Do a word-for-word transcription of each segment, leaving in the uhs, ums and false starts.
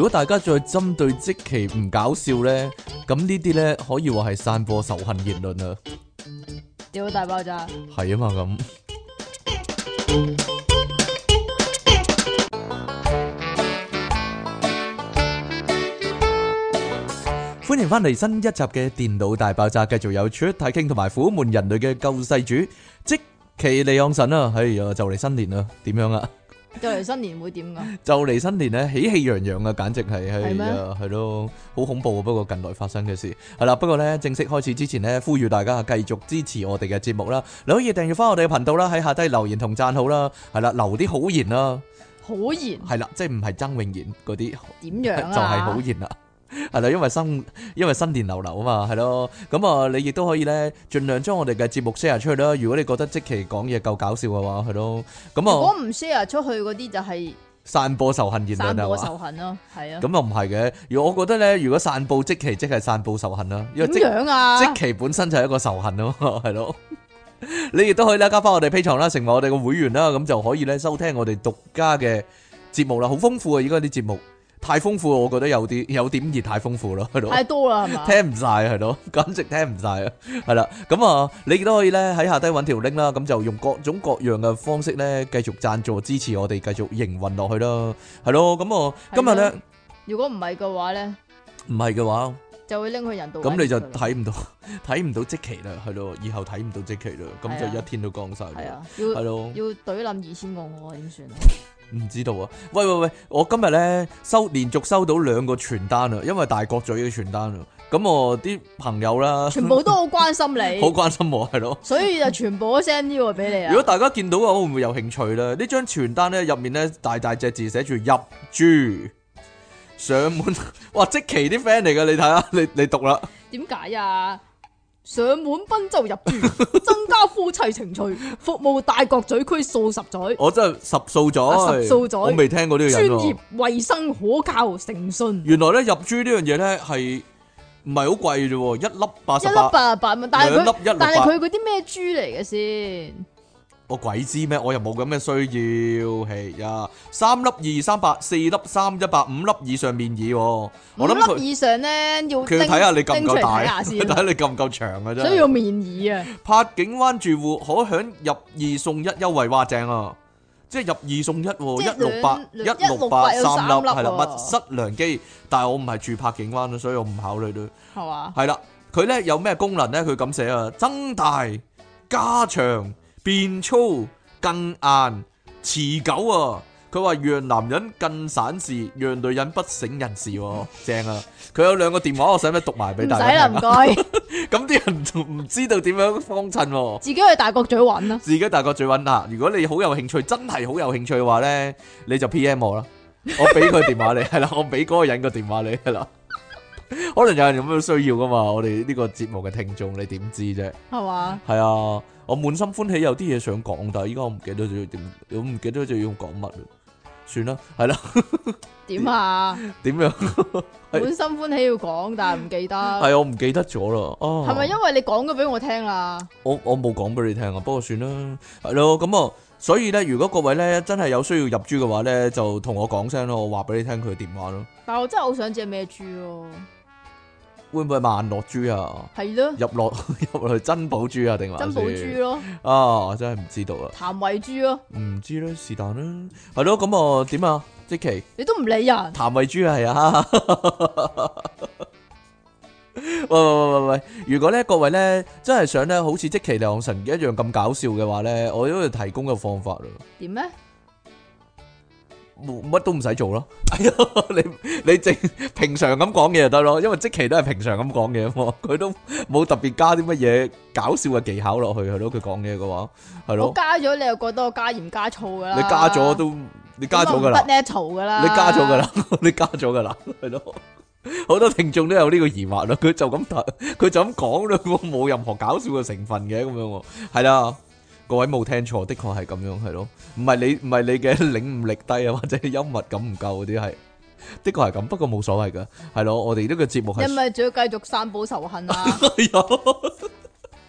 果大家再針對積淇唔搞笑咧，咁呢啲咧可以話係散播仇恨言論啊！ 屌大爆炸！ 係啊嘛咁。歡迎翻嚟新一集嘅電腦大爆炸，繼續有出體 king同埋苦悶人類嘅救世主積淇離岸神啊！哎呀，就嚟新年啦，點樣啊？ 就嚟新年會點噶？ 就嚟新年咧，喜氣洋洋啊，簡直係係係咩啊，係咯，好恐怖啊！不過近來發生嘅事係啦，不過咧正式開始之前咧，呼籲大家繼續支持我哋嘅節目啦，你可以訂閱翻我哋嘅頻道啦，喺下低留言同讚好啦，係啦，留啲好言啦， 好言係啦，即係唔係曾永賢嗰啲， 點樣啊？ 就係好言啦。係啦，因為新因為新年流流啊嘛，係咯，咁啊，你亦都可以咧，盡量將我哋嘅節目 share 出去啦。如果你覺得積淇講嘢夠搞笑嘅話，係咯，咁啊， 如果唔 share 出去嗰啲就係散播仇恨言論散播係嘛？ 仇恨咯，係啊。 咁又唔係嘅，如果我覺得咧，如果散布積淇即係散布仇恨啦，因為點積樣啊？ 積淇本身就係一個仇恨咯，係咯。你亦都可以咧加翻我哋 Patreon啦，成為我哋嘅會員啦，咁就可以咧收聽我哋獨家嘅節目啦，好豐富啊！而家啲節目。太豐富，我覺得有啲有點而太豐富咯，係咯， 太多啦，係嘛？ 聽唔晒係咯，簡直聽唔晒啊，係啦，咁啊，你亦都可以咧喺下低揾條 link 啦，咁就用各種各樣嘅方式咧，繼續贊助支持我哋，繼續營運落去啦，係咯，咁啊，今日咧， 如果唔係嘅話咧， 唔係嘅話， 就會拎去人道。 咁你就睇唔到睇唔到積淇啦，係咯，以後睇唔到積淇啦，咁就一天都光晒， 係啊，要係咯， 要懟冧二千個我點算啊？ 唔知道啊！喂喂喂，我今日咧收連續收到兩個傳單啊，因為大角咀嘅傳單啊，咁我啲朋友啦， 全部都好關心你， 好關心我係咯， 所以就全部都 send 呢個俾你啊！ 如果大家見到嘅話，會唔會有興趣咧？呢張傳單咧入面咧大大隻字寫住入珠上門，哇！積淇啲 friend 嚟㗎，你睇下，你你讀啦。 點解啊？上門賓州入住，增加夫妻情趣，服務大角咀區數十載。 我真係十數咗， 啊十數咗我未聽過呢個人喎。 專業、衛生、可靠、誠信。 原來咧入珠呢樣嘢咧係唔係好貴啫喎，一粒八十一粒八， 八十八蚊，但係兩粒一佢六八但係佢嗰啲咩豬嚟嘅先？ 我鬼知咩？我又冇咁嘅需要，係呀，三粒二三八，四粒三一八，五粒以上面議喎。 五我諗佢粒以上咧要佢要睇下你夠唔夠大， 睇下先， 睇下你夠唔夠長啊！真係。 所以要面議啊！ 柏景灣住戶可享入二送一優惠，哇正啊！即係入二送一喎， 即係一六八一兩六八有三粒三粒係啦， 喎密室良機。但係我唔係住柏景灣啊，所以我唔考慮咯。 係嘛？ 係啦，佢咧有咩功能咧？佢咁寫啊，增大、加長、變粗、更硬、持久啊！佢話讓男人更省事，讓女人不省人事喎，正啊！佢有兩個電話，我使唔使讀埋俾唔大家聽啊？ 使啦，唔該。 咁啲人就唔知道點樣幫襯喎。 自己去大角咀揾啦。 自己大角咀揾下，如果你好有興趣，真係好有興趣嘅話咧，你就 P M 我啦，我俾佢電話你，係啦，我俾嗰個人個電話你，係啦。可能有人有咁嘅需要噶嘛，我哋呢個節目嘅聽眾，你點知啫？ 係嘛？ 係啊，我滿心歡喜有啲嘢想講，但係依家我唔記得咗點，我唔記得咗要講乜啦，算啦，係啦。 點啊？ 點樣？ 滿心歡喜要講，但係唔記得。 係我唔記得咗啦。哦， 係咪因為你講咗俾我聽啦？ 我我冇講俾你聽啊，不過算啦，係咯，咁啊，所以咧，如果各位咧真係有需要入珠嘅話咧，就同我講聲咯，我話俾你聽佢嘅電話咯。 但係我真係好想知係咩豬咯？ 會唔會係萬樂珠啊？ 係咯， 入落入落去珍寶珠啊？定還是珍寶豬咯， 啊？我真係唔知道啊， 譚慧珠咯， 唔知啦，是但啦，係咯，咁啊點啊？積淇你都唔理人。 譚慧珠啊，係啊。喂喂喂喂喂！如果咧各位咧真係想咧好似積淇離岸神一樣咁搞笑嘅話咧，我都要提供個方法咯。 點咧？ 冇乜都唔使做咯。哎呀，你你正平常咁講嘢就得咯，因為積淇都係平常咁講嘢喎，佢都冇特別加啲乜嘢搞笑嘅技巧落去係咯。佢講嘢嘅話係我咯， 加咗你又覺得我加鹽加醋噶啦？ 你加咗都你加咗噶啦， 不 natural 噶啦， 你加咗噶啦，你加咗噶啦，係咯。好多聽眾都有呢個疑惑咯，佢就咁睇，佢就咁講咯，我冇任何搞笑嘅成分嘅咁樣，係啦，各位冇聽錯，的確係咁樣，係咯，唔係你唔係你嘅領悟力低啊，或者幽默感唔夠嗰啲係，的確係咁，不過冇所謂噶，係咯，我哋呢個節目係， 因為仲要繼續散播仇恨啊！ 係啊，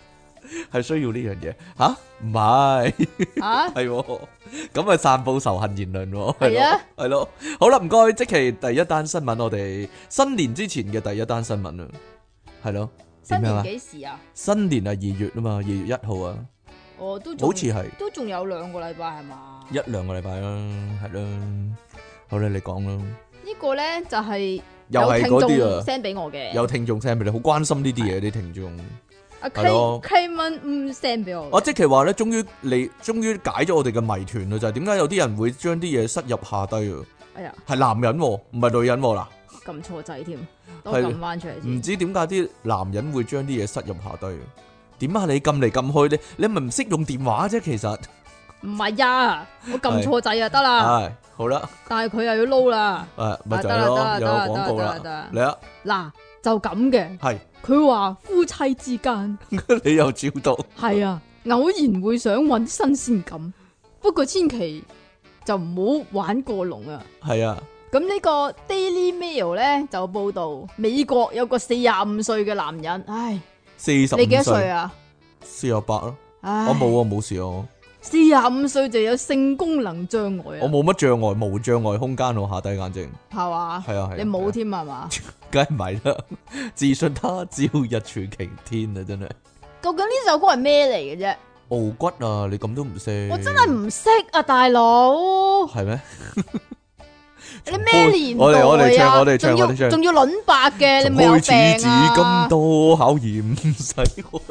係需要呢樣嘢吓？唔係啊， 係喎咁啊散佈仇恨言論喎， 係啊， 係咯。好啦，唔該，即期第一單新聞，我哋新年之前嘅第一單新聞啊，係咯。 新年點樣啊？ 幾時啊？ 新年係二月啊嘛，二月一號啊， 我都仲好似係都仲有兩個禮拜係嘛？ 一兩個禮拜啦，係啦。好啦，你講啦。 呢個咧就係又係有聽眾嗰啲啊， send 俾我嘅， 有聽眾 send 俾你，好關心呢啲嘢啲聽眾。 阿係咯 K K 蚊嗯 send 俾我嘅。 我即係話咧，終於你終於解咗我哋嘅謎團啦，就係點解有啲人會將啲嘢塞入下低啊？ 哎呀， 係男人喎，唔係女人喎嗱。 撳錯掣添，等係我撳翻出嚟唔先。 知點解啲男人會將啲嘢塞入下低？點解你撳嚟撳去，你你咪唔識用電話啫？其實唔係呀，我撳錯掣啊，得啦。 係好啦， 但係佢又要撈啦。 誒咪就係啊得啦咯，有得啦個廣告得啦得啦啦， 嚟啊， 嗱，就咁嘅。 係佢話夫妻之間你又照到， 係啊，偶然會想揾新鮮感，不過千祈就唔好玩過龍啊。 係啊， 咁呢個 Daily Mail 咧就報道美國有個四十五歲嘅男人，唉， 四十你幾多五歲， 歲啊？ 四十八咯， 唉， 我冇啊，冇事啊， 四十五歲就有性功能障礙我啊， 冇乜障礙，無障礙空間我下低眼睛， 係嘛？ 係啊係啊， 你冇添係嘛？ 梗係唔係啦，自信他朝日柱擎天啊，真係究竟呢首歌係咩嚟嘅啫？ 傲骨啊，你咁都唔識， 我真係唔識啊，大佬！ 係咩？ 你咩年代啊？ 我哋我哋唱我哋唱仲要我哋唱仲要輪白嘅，你咪有從開始至病啊今！多考驗，唔使我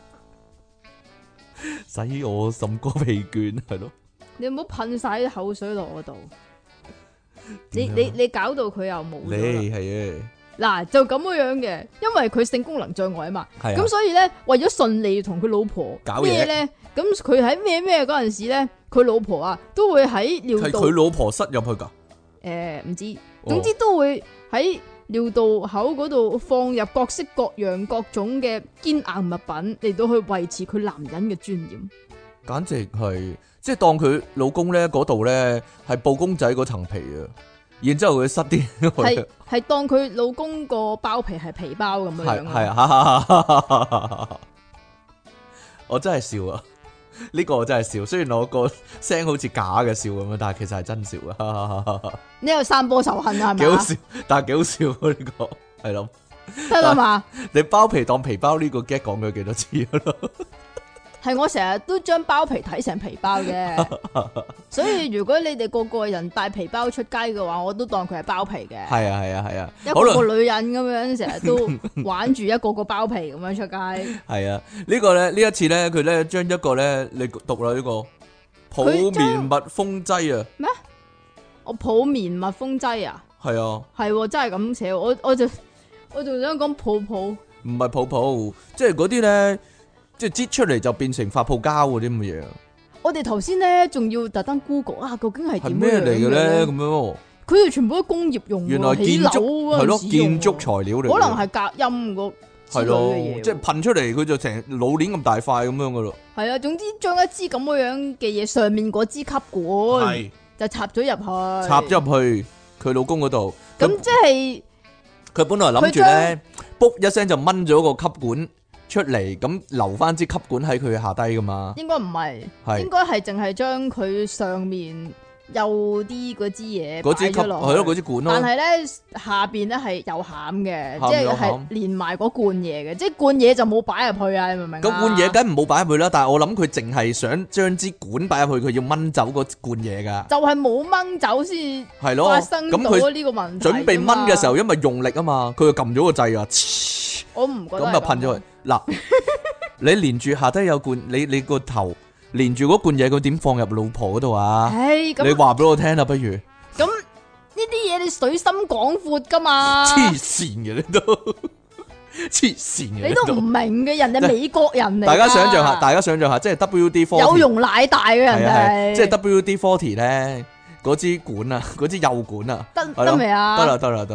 使我甚個疲倦，係咯？ 你唔好噴晒啲口水落我度，你點樣你你搞到佢又冇咗啦你係啊， 嗱，就咁樣嘅，因為佢性功能障礙啊嘛， 係啊咁所以咧為咗順利同佢老婆搞嘢咩咧，咁佢喺咩咩嗰陣時咧，佢老婆啊都會喺尿道係佢老婆塞入去㗎。 誒唔知， 哦總之都會喺尿道口嗰度放入各式各樣各種嘅堅硬物品嚟到去維持佢男人嘅尊嚴。 簡直係即係當佢老公咧嗰度咧係布公仔嗰層皮啊，然之後佢塞啲係係當佢老公個包皮係皮包咁樣係樣係啊，我真係笑啊！呢個我真係笑，雖然我個聲好似假嘅笑咁樣，但係其實係真笑啊！ 你有散播仇恨啊？係咪啊？ 幾好笑，但係幾好笑啊！呢個係咯， 得啦嘛， 你包皮當皮包呢個 get 講咗幾多次咯？ 係我成日都將包皮睇成皮包嘅，所以如果你哋個個人帶皮包出街嘅話，我都當佢係包皮嘅。 係啊係啊係啊， 一好啦個個女人咁樣成日都玩住一個個包皮咁樣出街。 係啊，呢個咧呢一次咧佢咧將一個咧你讀啦呢個泡佢將棉蜜蜂劑啊， 我抱棉蜜蜂劑啊， 係啊， 係喎真係咁寫喎，我我就我仲想講泡泡， 唔係泡泡，即係嗰啲咧，即係擠出嚟就變成發泡膠嗰啲咁嘅嘢啊， 我哋頭先咧仲要特登 Google 啊，究竟係係咩點樣嚟嘅咧？ 咧咁？樣喎， 佢哋全部都工業用喎， 原來起樓建築係咯， 嗰陣時用建築喎材料嚟嘅， 可能係隔音個之類係咯嘅嘢喎， 即係噴出嚟佢就成老鏈咁大塊咁樣噶咯， 係啊，總之將一支咁樣嘅嘢上面嗰支吸管係就插咗入去， 插咗入去佢老公嗰度， 咁咁即係佢本來諗住咧，卜一聲就掹咗個吸管出嚟，咁留翻支吸管喺佢下低噶嘛， 應該唔係， 係應該係淨係將佢上面有啲嗰支嘢嗰支吸擺咗落去係咯嗰支管咯但，係咧下邊咧係有餡嘅， 餡即係有餡係連埋嗰罐嘢嘅，即係罐嘢就冇擺入去啊！你明唔明啊？ 咁罐嘢梗唔好擺入去啦，但係我諗佢淨係想將支管擺入去，佢要掹走嗰罐嘢噶， 就係冇掹走先係咯， 發生咁佢到呢個問題。 準備掹嘅時候，，因為用力啊嘛，佢就撳咗個掣啊， 我唔覺得咁就噴咗去。嗱，你連住下低有罐，你你個頭連住嗰罐嘢，佢點放入老婆嗰度啊？ 唉，咁你話俾我聽啦，不如咁呢啲嘢你水深廣闊噶嘛？ 黐線嘅你都黐線嘅你都唔明嘅，人哋美國人嚟㗎。 大家想象下，大家想象下，即係 W D 四有容奶大嘅人係啊係哋， 即係 W D 四十咧嗰支管啊，嗰支幼管啊， 得係咯得未啊？ 得啦得啦得啦，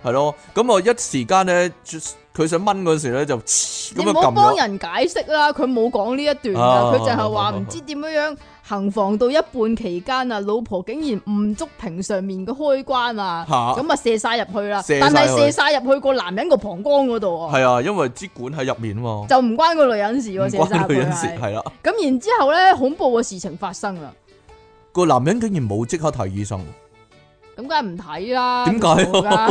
係咯，咁我一時間咧，佢想掹嗰時咧就咁你唔好樣撳咗。 幫人解釋啦，佢冇講呢一段啊噶，佢就係話唔知點樣樣行房到一半期間啊，老婆竟然唔觸屏上面嘅開關啊， 嚇咁啊射晒入去啦， 射晒但係去射晒入去個男人個膀胱嗰度啊， 係啊，因為支管喺入面啊嘛， 就唔關個女人事唔喎，射晒入去關女人事， 係。 係啦。 咁然之後咧，恐怖嘅事情發生啦， 個男人竟然冇即刻睇醫生， 咁梗係唔睇啦。 點解啊？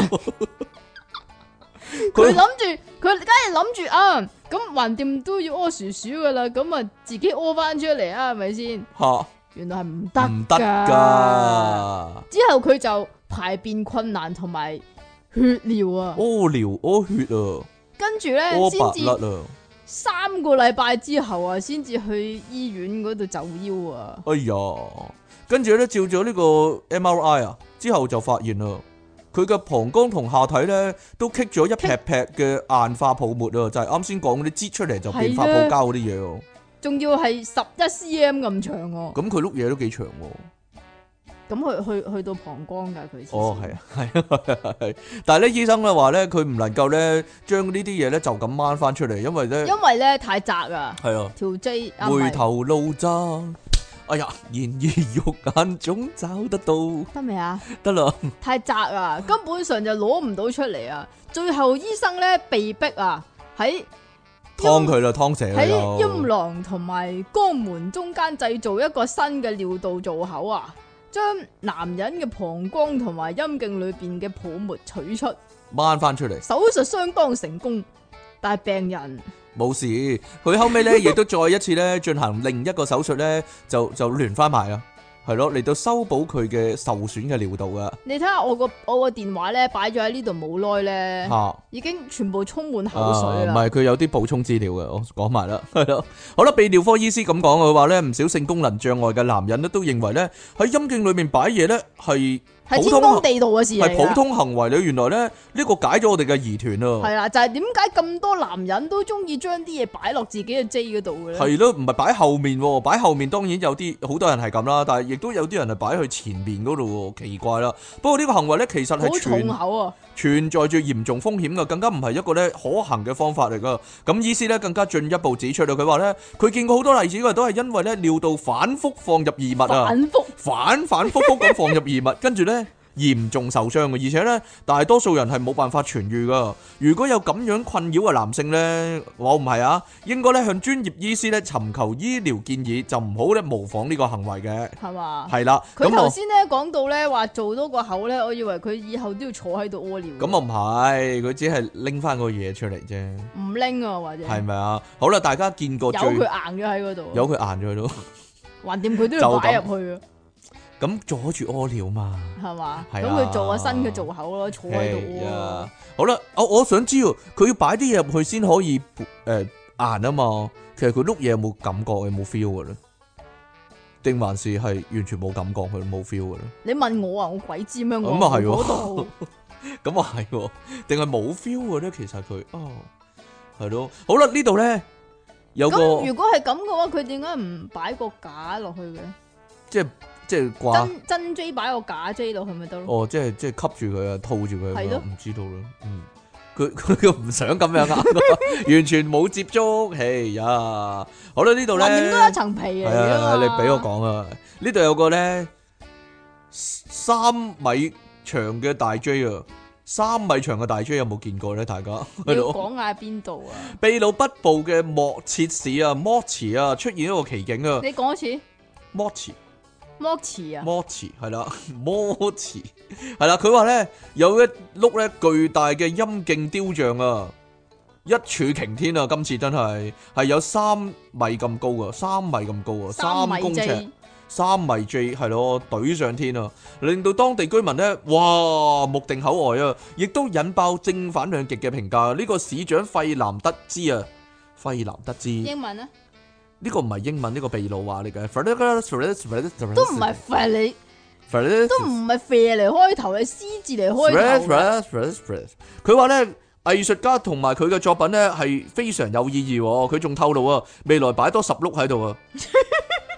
佢佢諗住，佢梗係諗住啊，咁橫掂都要屙薯薯噶啦，咁啊自己屙翻出嚟啊，係咪先？ 嚇原來係唔得唔得㗎。 㗎， 之後佢就排便困難同埋血尿啊， 屙尿屙血啊， 跟住咧屙先至白甩啊， 三個禮拜之後啊，先至去醫院嗰度就腰啊。 哎呀，跟住咧照咗呢個 M R I 啊，之後就發現啦，佢嘅膀胱同下體咧都棘咗一劈劈嘅硬化泡沫啊，就係啱先講嗰啲擠出嚟就變發泡膠嗰啲嘢喎。 仲要係十一 cm 咁長喎， 咁佢碌嘢都幾長喎。 咁去去去到膀胱噶佢。 哦，係啊，係啊，係。但係咧，醫生咧話咧，佢唔能夠咧將呢啲嘢咧就咁掹翻出嚟，因為咧因為咧太窄啊， 係啊， 條 J 啊回頭路窄。哎呀，然而肉眼總找得到， 得未啊？ 得啦。 太窄啊，根本上就攞唔到出嚟啊！最後醫生咧被逼啊喺劏佢啦，劏死喺佢陰啦。 囊同埋肛門中間製造一個新嘅尿道造口啊，將男人嘅膀胱同埋陰莖裏邊嘅泡沫取出， 掹翻出嚟， 手術相當成功，但係病人冇事。佢後尾咧亦都再一次咧進行另一個手術咧，就就連翻埋啊，係咯，嚟到修補佢嘅受損嘅尿道啊。 你睇下我個我個電話咧擺咗喺呢度冇耐咧， 嚇！ 已經全部充滿口啊， 水啦。 唔係佢有啲補充資料嘅，我講埋啦，係咯。好啦，泌尿科醫師咁講，佢話咧唔少性功能障礙嘅男人咧都認為咧喺陰莖裏面擺嘢咧係係普通天公地道嘅事嚟㗎係普通行為咧。原來咧呢個解咗我哋嘅疑團啊。 係啦，就係點解咁多男人都中意將啲嘢擺落自己嘅 J 嗰度嘅咧？ 係咯，唔係擺後面喎，擺後面當然有啲好多人係咁啦，但係亦都有啲人係擺去前面嗰度喎，奇怪啦。不過呢個行為咧其實係好全重口啊！ 存在住嚴重風險嘅，更加唔係一個咧可行嘅方法嚟噶。咁醫師咧更加進一步指出到，佢話咧佢見過好多例子，佢都係因為咧尿道反覆放入異物啊， 反覆反反覆覆咁放入異物，跟住咧嚴重受傷嘅，而且咧大多數人係冇辦法痊愈噶。如果有咁樣困擾嘅男性咧，我唔係啊，應該咧向專業醫師咧尋求醫療建議，就唔好咧模仿呢個行為嘅。 係嘛？ 係啦， 佢咁我頭先咧講到咧話做多個口咧，我以為佢以後都要坐喺度屙尿。 咁我唔係，佢只係拎翻個嘢出嚟啫。 唔拎啊，或者係咪啊？好啦，大家見過有最佢硬咗喺嗰度， 有佢硬咗喺度， 橫掂佢都要擺入去啊， 咁阻住屙尿嘛？ 係嘛？ 係啊咁佢做個新嘅造口咯，坐喺度屙係啊咯。 好啦，我我想知道佢要擺啲嘢入去先可以誒硬啊嘛。其實佢碌嘢有冇感覺，有冇 feel 嘅咧？定還是係完全冇感覺，佢冇 feel 嘅咧？ 你問我啊，我鬼知咩？我咁啊係喎嗰度咁啊係喎，定係冇 feel 嘅咧？其實佢哦係咯。好啦，呢度咧有個咁，如果係咁嘅話，佢點解唔擺個架落去嘅？ 即係即係掛。 真真 J 擺個假 J 落去咪得咯？ 哦，即係即係吸住佢啊，套住佢啊， 係咯唔知道啦。嗯，佢佢又唔想咁樣啊，完全冇接觸。哎呀，好啦，呢度咧， 橫掂都係一層皮嚟係啊， 㗎嘛。 你俾我講啊，呢度有個咧三米長嘅大 J 啊，三米長嘅大 J 有冇見過咧？大家你要係咯， 講下邊度啊？ 秘魯北部嘅莫切市啊，莫茨啊，出現一個奇景啊， 你講一次莫茨。 摩茨啊？ 摩茨係啦，摩茨係啦，佢話咧有一碌咧巨大嘅陰莖雕像啊，一柱擎天啊！今次真係係有三米咁高啊，三米咁高啊，三公尺，三米 J 係咯，懟上天啊，令到當地居民咧哇目定口呆啊，亦都引爆正反兩極嘅評價。呢個市長費南德茲啊，費南德茲。 英文啊？ 呢個唔係英文，呢個秘魯話嚟嘅， 都唔係肥你，都唔係肥嚟開頭，係 C 字嚟開頭。 佢話咧，藝術家同埋佢嘅作品咧係非常有意義。佢仲透露啊，未來擺多十碌喺度啊。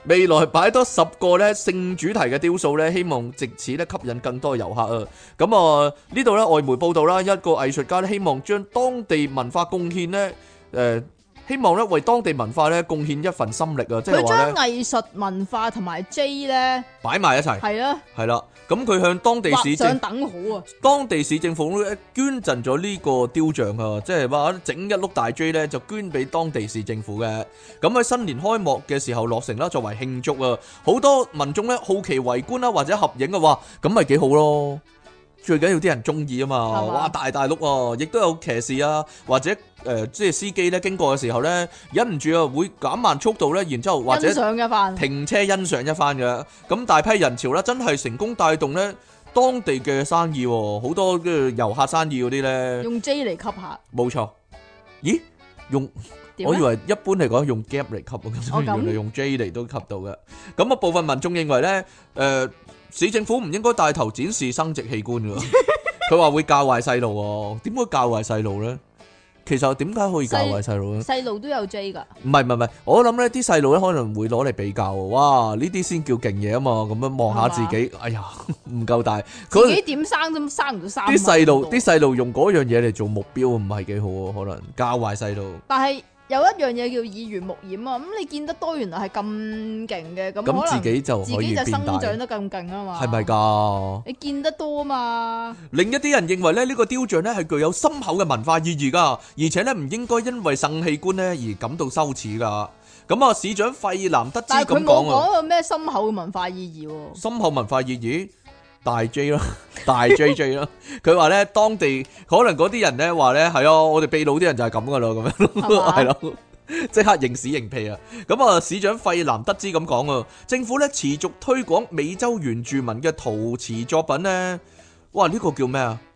未來擺多十個咧性主題嘅雕塑咧，希望藉此咧吸引更多遊客啊！咁啊呢度咧外媒報道啦，一個藝術家咧希望將當地文化貢獻咧，誒、呃、希望咧為當地文化咧貢獻一份心力啊！即係佢話咧將藝術文化同埋 J 咧擺埋一齊， 係啊， 係啦。咁佢向當地市畫上政等號啊！ 當地市政府咧捐贈咗呢個雕像啊，即係話整一碌大 J 咧就捐俾當地市政府嘅。咁喺新年開幕嘅時候落成啦，作為慶祝啊，好多民眾咧好奇圍觀啦，或者合影啊，話咁咪幾好咯。最緊要啲人中意啊嘛， 係嘛哇大大碌啊！亦都有騎士啊，或者誒、呃、即係司機咧經過嘅時候咧，忍唔住啊會減慢速度咧，然之後或者欣賞一番， 停車欣賞一番嘅。咁大批人潮咧，真係成功帶動咧當地嘅生意喎，好多嘅遊客生意嗰啲咧， 用 J 嚟吸下， 冇錯。咦？用點咧？ 我以為一般嚟講用 gap 嚟吸， 哦咁原來用 J 嚟都吸到嘅。咁啊，部分民眾認為咧，誒、市政府唔應該帶頭展示生殖器官㗎。佢話會教壞細路喎，點會教壞細路咧？其實點解可以教壞細路咧？ 細路都有 J 噶， 唔係唔係唔係，我諗咧啲細路咧可能會攞嚟比較喎。哇！呢啲先叫勁嘢啊嘛，咁樣望下自己，哎呀唔夠大。 自己點生都生唔到三。 啲細路啲細路用嗰樣嘢嚟做目標，唔係幾好喎，可能教壞細路。 但係有一樣嘢叫耳濡目染啊，咁你見得多原來係咁勁嘅，咁可咁自能己就可以自己就生變大， 長得咁勁啊嘛。 係咪㗎？ 你見得多啊嘛？ 另一啲人認為咧，呢個雕像咧係具有深厚嘅文化意義㗎，而且咧唔應該因為性器官咧而感到羞恥㗎。咁啊，市長費南德茲但係佢冇咁講啊， 講有咩深厚嘅文化意義喎。 深厚文化意義大 J 啦，大 J J 啦。佢話咧，當地可能嗰啲人咧話咧係啊，我哋秘魯啲人就係咁㗎啦，咁樣係嘛係咯。即刻認屎認屁啊！咁啊，市長費南德茲咁講啊，政府咧持續推廣美洲原住民嘅陶瓷作品咧，哇！呢個叫咩啊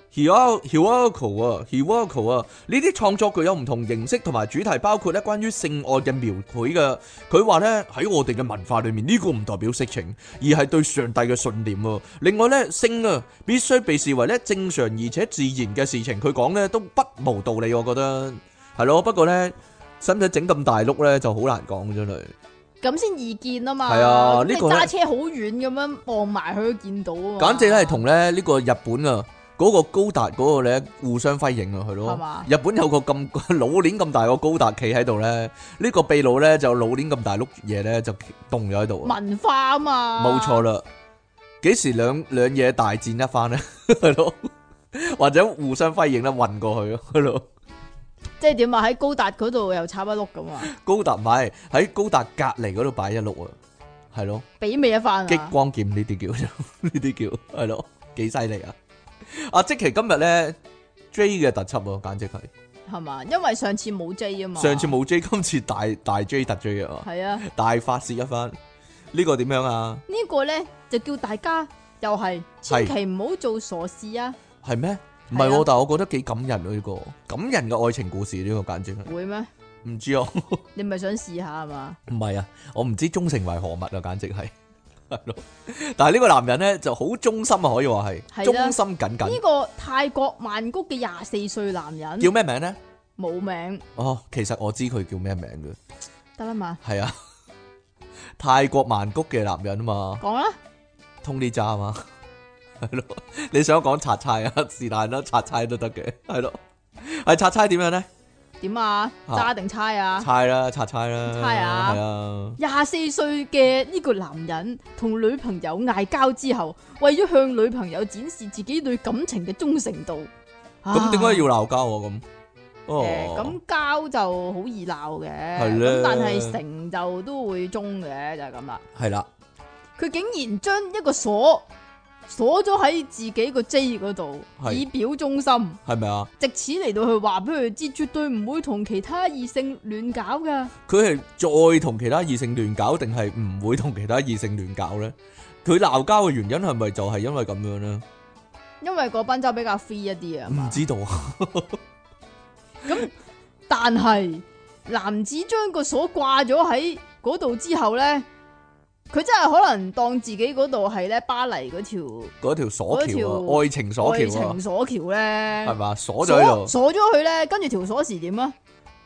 ？Huayco 啊，Huayco 啊，呢啲創作具有唔同形式同埋主題，包括咧關於性愛嘅描繪嘅。佢話咧喺我哋嘅文化裏面，呢個唔代表色情，而係對上帝嘅信念啊。另外咧，性啊必須被視為咧正常而且自然嘅事情。佢講咧都不無道理，我覺得係咯。不過咧，使唔使整咁大碌咧就好難講，真係。 咁先易見啊嘛。 係啊咁你呢個呢揸車好遠咁樣望埋去都見到啊嘛。 簡直咧係同咧呢個日本啊嗰個高達嗰個咧互相輝映啊，係咯。 係嘛？ 日本有個咁老鏈咁大個高達企喺度咧，呢個秘魯咧就老鏈咁大碌嘢咧就凍咗喺度。 文化啊嘛。 冇錯啦，幾時兩兩嘢大戰一番咧？係咯，或者互相輝映咧運過去咯，係咯。 即係點啊？喺高達嗰度又插一碌咁啊？ 高達唔係喺高達隔離嗰度擺一碌啊，係咯。 比美一番啊！ 激光劍呢啲叫，呢啲叫係咯，幾犀利啊！阿積淇今日咧 J 嘅特輯啊，簡直係係嘛？因為上次冇 J 啊嘛。 上次冇 J，今次大大 J 特 J 啊， 係啊。 大發泄一番。呢個點樣啊？ 呢個咧就叫大家又係千祈唔好做傻事啊！ 係咩？唔係啊係喎，但係我覺得幾感人啊！呢個感人嘅愛情故事，呢個簡直係會咩？ 唔知啊， 你咪想試下係嘛？ 唔係啊，我唔知忠誠為何物啊，簡直係係咯。但係呢個男人咧就好忠心啊，可以話係係啦忠心耿耿。 呢個泰國曼谷嘅廿四歲男人叫咩名咧？ 冇名哦，其實我知佢叫咩名嘅， 得啦嘛？ 係啊，泰國曼谷嘅男人啊嘛講啦， ，Tony Jaa 啊嘛，係咯。你想講拆差啊？是但啦，拆差都得嘅，係咯。係拆差點樣咧？ 點啊？揸定猜啊？ 猜啦，拆差啦， 猜啊係啊。 廿四歲嘅呢個男人同女朋友嗌交之後，為咗向女朋友展示自己對感情嘅忠誠度， 咁點解要啊鬧交啊？咁誒， 哦， 咁交就好易鬧嘅， 係咧咁但係成就都會忠嘅，就係咁啦。 係啦， 佢竟然將一個鎖鎖咗喺自己個 J 嗰度， 係以表忠心， 係咪啊？ 藉此嚟到去話俾佢知，絕對唔會同其他異性亂搞噶。 佢係再同其他異性亂搞，定係唔會同其他異性亂搞咧？佢鬧交嘅原因係咪就係因為咁樣咧？ 因為嗰賓州比較 free 一啲啊唔嘛。 知道啊。 咁但係男子將個鎖掛咗喺嗰度之後咧，佢真係可能當自己嗰度係咧巴黎嗰條嗰條鎖橋嗰條啊，愛情鎖愛橋啊情，鎖橋咧， 係嘛？鎖咗喺度， 鎖咗佢咧，跟住條鎖匙點啊？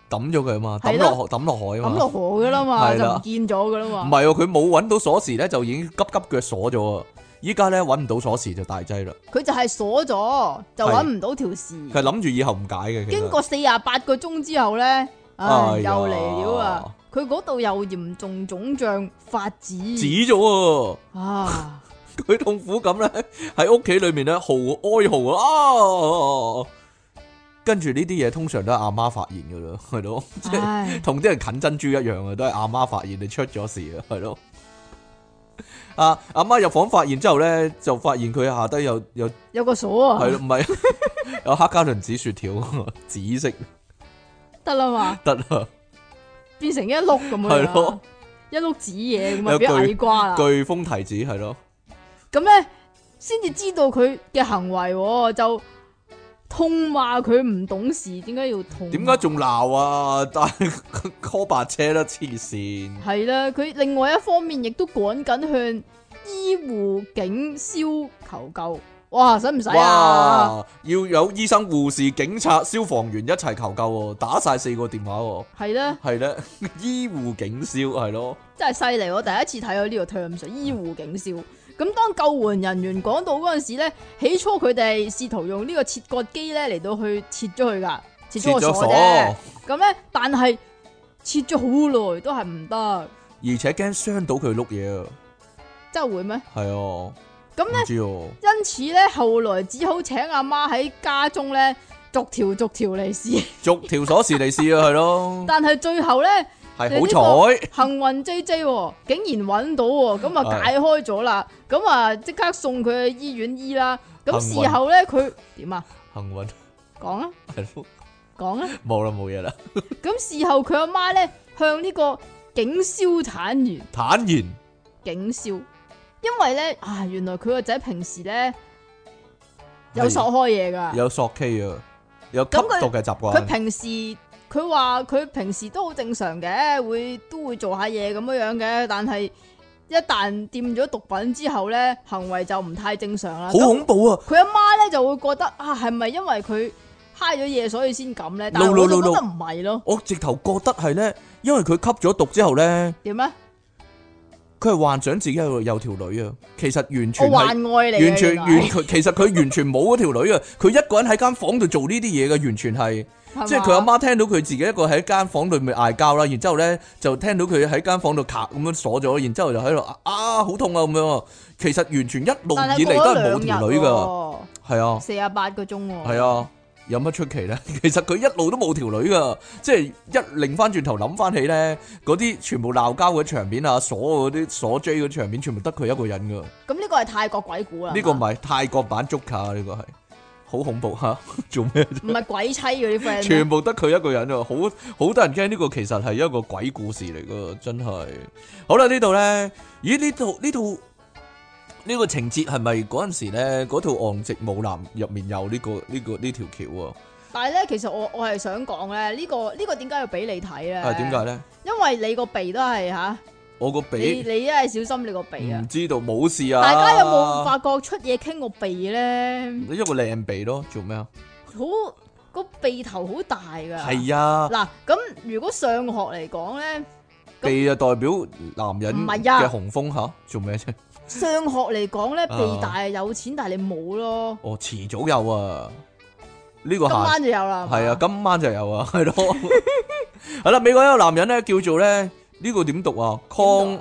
抌咗佢啊嘛，抌係咯落抌落海啊嘛。 抌落河噶啦嘛， 係啦就唔見咗噶啦唔嘛。 係喎，佢冇揾到鎖匙咧，就已經急急腳鎖咗啊！依家咧揾唔到鎖匙就大劑啦。 佢就係鎖咗，就揾唔到條匙。 佢係諗住以後唔解嘅。其實經過四廿八個鐘之後咧，唉， 哎呀又嚟了啊！佢嗰度又嚴重腫脹發紫。 紫咗啊！ 啊！ 佢痛苦咁咧喺屋企裏面咧嚎哀嚎啊！跟住呢啲嘢通常都係阿媽發現噶啦，係咯，即係唉， 同啲人啃珍珠一樣啊，都係阿媽發現你出咗事啊，係咯。阿阿媽入房發現之後咧，就發現佢下低有有有個鎖啊， 係咯，唔係有黑加侖紫雪條，紫色得啦嘛， 得啦， 變成一碌咁樣， 係咯， 一碌紫嘢咁啊， 有俾矮瓜啦。 巨峰提子係咯， 咁咧先至知道佢嘅行為喎，就痛罵佢唔懂事，點解要痛？ 點解仲鬧啊？但係 call 白車啦，黐線！ 係啦？佢另外一方面亦都趕緊向醫護警消求救。哇，使唔使啊？ 哇！要有醫生、護士、警察、消防員一齊求救喎，打晒四個電話喎。 係咧， 係咧，醫護警消係咯， 真係犀利！我第一次睇到呢個 terms，醫護警消。咁當救援人員趕到嗰陣時咧，起初佢哋試圖用呢個切割機咧嚟到去切咗佢噶，切咗個切咗鎖啫。咁咧，但係切咗好耐都係唔得， 而且驚傷到佢碌嘢啊！ 真係會咩？ 係啊， 咁咧唔，知喎， 因此咧，後來只好請阿媽喺家中咧逐條逐條嚟試， 逐條鎖匙嚟試啊，係咯， 但係最後咧係你呢好彩， 幸運 J J 喎竟然揾到喎，咁啊解開咗啦，咁啊即刻送佢去醫院醫啦。咁幸運事後咧佢點啊？ 幸運講啊係咯， 講啊！ 冇啦冇嘢啦， 咁事後佢阿媽咧向呢個警消坦言， 坦然警消，因為咧啊原來佢個仔平時咧有索開嘢噶， 有索 K 啊，有吸咁佢毒嘅習慣， 佢平時佢話佢平時都好正常嘅，會都會做下嘢咁樣樣嘅，但係一旦掂咗毒品之後咧，行為就唔太正常啦。 好恐怖啊！ 佢阿媽咧就會覺得啊，係咪因為佢揩咗嘢所以先咁咧？但係 No, no, 我就 no, 覺 no. 得唔係咯。 我直頭覺得係咧，因為佢吸咗毒之後咧， 點咧？ 佢係幻想自己有有條女啊，其實完我全係。 幻愛嚟嘅， 完全原來完佢其實佢完全冇嗰條女啊！佢一個人喺間房度做呢啲嘢嘅，完全係係即係佢阿嘛媽聽到佢自己一個喺間房裏面嗌交啦，然之後咧就聽到佢喺間房度咔咁樣鎖咗，然之後就喺度啊好痛啊咁樣。其實完全一路但係以嚟都係冇過咗兩條女噶， 日喎， 係啊四十八個鐘喎。 係啊，有乜出奇咧？其實佢一路都冇條女噶，即係一擰翻轉頭諗翻起咧，嗰啲全部鬧交嘅場面啊，鎖嗰啲鎖 J 嗰啲場面，全部得佢一個人噶。 咁呢個係泰國鬼故啦。 呢個唔係泰國版捉卡，呢個係好恐怖吓，做咩？ 唔係鬼妻嗰啲 friend 咩。 全部得佢一個人啊，好好多人驚呢個其實係一個鬼故事嚟噶，真係。好啦，呢度咧，咦呢套呢套呢個情節係咪嗰陣時咧嗰套《岸直舞男》入面有呢個呢個呢條橋啊？ 但係咧，其實我我係想講咧，呢個呢個點解要俾你睇咧？ 啊點解咧？ 因為你個鼻都係吓， 我個你鼻你一係小心你個鼻啊唔！知道冇事啊！ 大家有冇發覺出嘢傾個鼻咧？ 一個靚鼻咯？做咩啊？ 好個鼻頭好大噶。 係啊， 嗱，咁如果上學嚟講咧， 鼻就代表男人唔係啊嘅雄風吓，做咩啫？ 上學嚟講咧， 啊鼻大係有錢，但係你冇咯。 哦，遲早有啊！呢個今下晚就有啦。 係啊，今晚就有啊，係咯。係啦，美國一個男人咧叫做咧呢個點讀啊？Con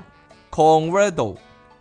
Conrado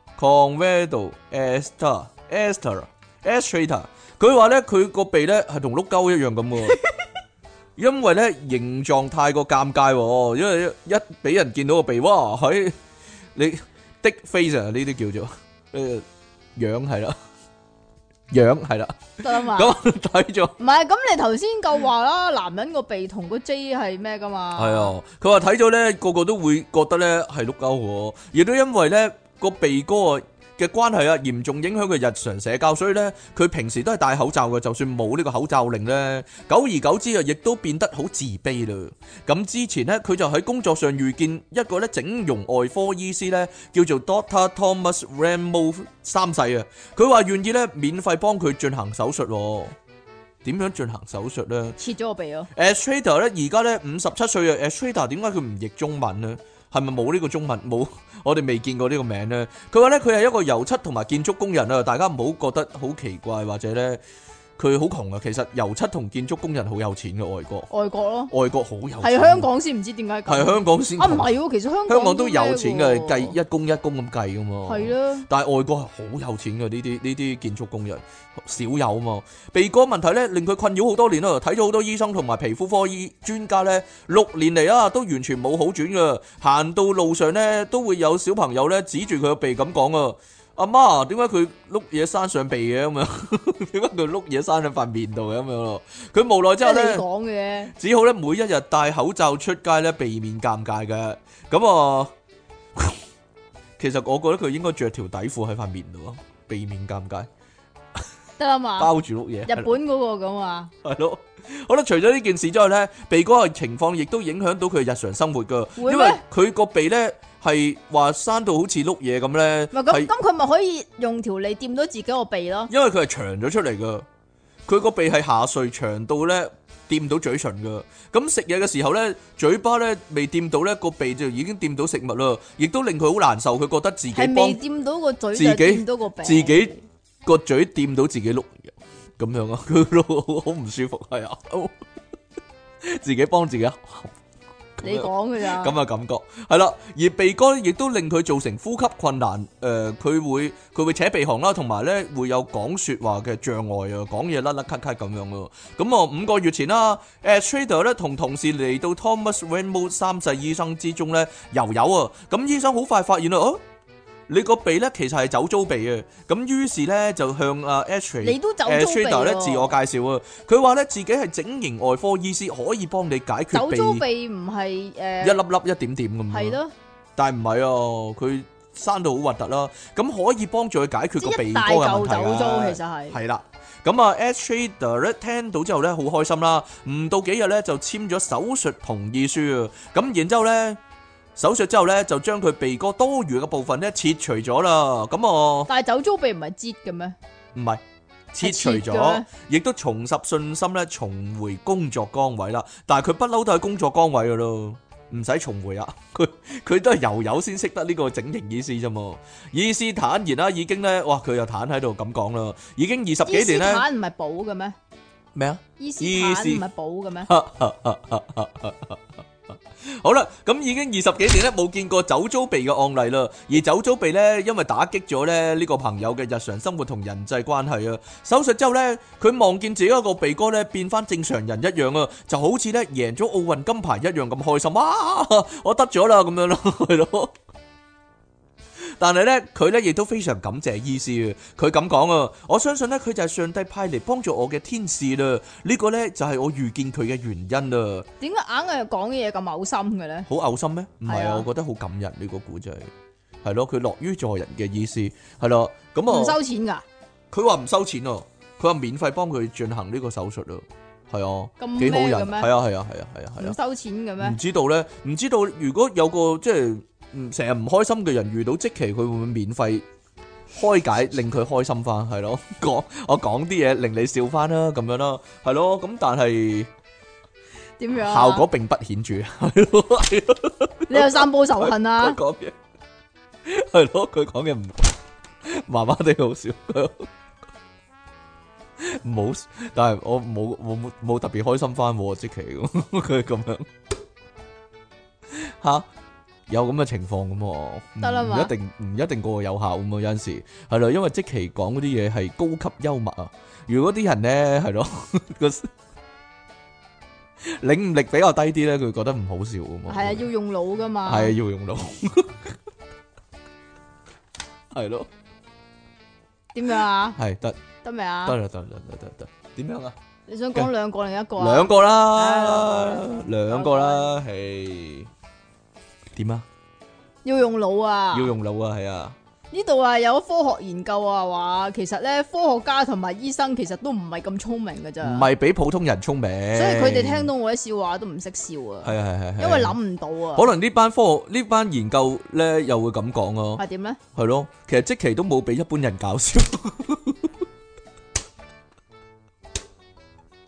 Conrado Esther Esther Estrater，佢話咧佢個鼻咧係同碌鳩一樣咁喎，因為咧形狀太過尷尬喎，因為一俾人見到個鼻，哇喺你的 face 啊呢啲叫做誒樣係啦，樣係啦， 得啦嘛。 咁睇咗。 唔係，咁你頭先夠話啦，男人個鼻同個 J 係咩噶嘛？ 係啊，佢話睇咗咧，個個都會覺得咧係碌鳩喎，亦都因為咧個鼻哥嘅關係啊，嚴重影響佢日常社交，所以咧佢平時都係戴口罩嘅，就算冇呢個口罩令咧，久而久之啊，亦都變得好自卑啦。咁之前咧，佢就喺工作上遇見一個咧整容外科醫師咧，叫做 Doctor Thomas Ramo 三世啊，佢話願意咧免費幫佢進行手術喎。 點樣進行手術咧？ 切咗個鼻咯。 Astrader 咧而家咧五十七歲啊 Astrader 點解佢唔譯中文咧？係咪冇呢個中文？冇，我哋未見過呢個名咧。佢話咧佢係一個油漆同埋建築工人啊，大家唔好覺得好奇怪或者咧。佢好窮啊，其實油漆同建築工人好有錢嘅外國， 外國咯， 外國好有錢， 係香港先唔知點解咁， 係香港先啊唔係喎，其實香港香港都有錢嘅， 嘅計一工一工咁計噶嘛， 係啦， 但係外國係好有錢嘅呢啲呢啲建築工人少有嘛，鼻哥問題咧令佢困擾好多年啦，睇咗好多醫生同埋皮膚科醫專家咧，六年嚟啊都完全冇好轉嘅，行到路上咧都會有小朋友咧指住佢個鼻咁講啊。阿媽，點解佢碌嘢生上鼻嘅咁樣？點解佢碌嘢生喺塊面度嘅咁樣咯？佢無奈之後咧， 講嘅， 只好咧每一日戴口罩出街咧，避免尷尬嘅。咁啊，其實我覺得佢應該着條底褲喺塊面度咯，避免尷尬。 得啦嘛， 包住碌嘢。 日本嗰個咁啊， 係咯。好啦，除咗呢件事之外咧，鼻哥嘅情況亦都影響到佢日常生活噶，因為佢個鼻咧。係話生到好似碌嘢咁咧， 咁咁佢咪可以用條脷掂到自己個鼻咯？ 因為佢係長咗出嚟噶，佢個鼻係下垂長到咧掂到嘴唇噶。咁食嘢嘅時候咧，嘴巴咧未掂到咧，個鼻就已經掂到食物啦，亦都令佢好難受。佢覺得自己係未掂到個嘴， 自己掂到個鼻， 自己個嘴掂到自己碌咁樣啊，佢好唔舒服係啊，自己幫自己。 你講嘅咋？ 咁嘅感覺係啦，而鼻哥亦都令佢造成呼吸困難。誒、呃，佢會佢會扯鼻鼾啦，同埋咧會有講説話嘅障礙啊，講嘢甩甩咳咳咁樣咯。咁啊，五個月前啦，Astrader 咧同同事嚟到 Thomas Rainbow 三世醫生之中咧遊遊啊。咁醫生好快發現啦，哦、啊，你個鼻咧其實係酒糟鼻啊。咁於是咧就向啊 Astrader 咧自我介紹啊。佢話咧自己係整形外科醫師，可以幫你解決鼻。 酒糟鼻唔係誒一粒粒一點點咁。 係咯， 但係唔係啊，佢生到好核突啦。咁可以幫助佢解決個鼻哥嘅問題啊。 酒糟其實係係啦。咁啊 Astrader 咧聽到之後咧好開心啦，唔到幾日咧就簽咗手術同意書啊。咁然之後咧。手術之後咧，就將佢鼻哥多餘嘅部分咧切除咗啦。咁我但係酒糟鼻唔係擠嘅咩？ 唔係切除咗，亦都重拾信心咧，重回工作崗位啦。但係佢不嬲都係工作崗位噶咯，唔使重回啊。佢佢都係油油先識得呢個整形醫師啫嘛。醫師坦言啦，已經咧，哇，佢又坦喺度咁講啦，已經二十幾年咧。醫師坦唔係補嘅咩？ 咩啊？ 醫師坦唔係補嘅咩？ 好啦，咁已經二十幾年咧冇見過酒糟鼻嘅案例啦，而酒糟鼻咧因為打擊咗咧呢個朋友嘅日常生活同人際關係啊，手術之後咧佢望見自己一個鼻哥咧變翻正常人一樣啊，就好似咧贏咗奧運金牌一樣咁開心啊！我得咗啦咁樣咯，係咯。但係咧，佢咧亦都非常感謝醫師啊！佢咁講啊，我相信咧佢就係上帝派嚟幫助我嘅天使啦。呢個咧就係我遇見佢嘅原因啦。 點解硬係講嘅嘢咁嘔心嘅咧？ 好嘔心咩？唔係啊， 啊我覺得好感人呢個故仔，係咯，佢樂於助人嘅意思，係咯，咁啊， 唔收錢噶？ 佢話唔收錢啊，佢話免費幫佢進行呢個手術啊，係啊，幾好人，係啊，係啊，係啊，係啊，係啊， 唔收錢嘅咩？ 唔知道咧，唔知道如果有個即係。成日唔開心嘅人遇到積淇，佢會唔會免費開解令佢開心翻？係咯，講我講啲嘢令你笑翻啦，咁樣啦，係咯，咁但係點樣效果並不顯著，係咯， 你有散播仇恨啊？ 佢講嘢係咯，佢講嘢唔麻麻地好笑，唔好，但係我冇冇冇特別開心翻積淇，佢咁樣吓。有咁嘅情況咁喎， 得啦嘛， 唔一定唔一定個個有效咁啊，有陣時係咯，因為積淇講嗰啲嘢係高級幽默啊。如果啲人咧係咯個領悟力比較低啲咧，佢覺得唔好笑噶嘛。 係啊，要用腦噶嘛。 係啊，要用腦。係咯。 點樣啊？ 係得得未啊？ 得啦，得啦，得得得。點樣啊？ 你想講兩個定一個啊？ 兩個啦，兩個啦，係。點啊？ 要用腦啊！ 要用腦啊，係啊！ 呢度啊有科學研究啊，話其實咧科學家同埋醫生其實都唔係咁聰明噶咋， 唔係比普通人聰明， 所以佢哋聽到我啲笑話都唔識笑啊。 係係係， 因為諗唔到啊。 可能呢班科學呢班研究咧又會咁講咯。 係點咧？ 係咯，其實積淇都冇比一般人搞笑。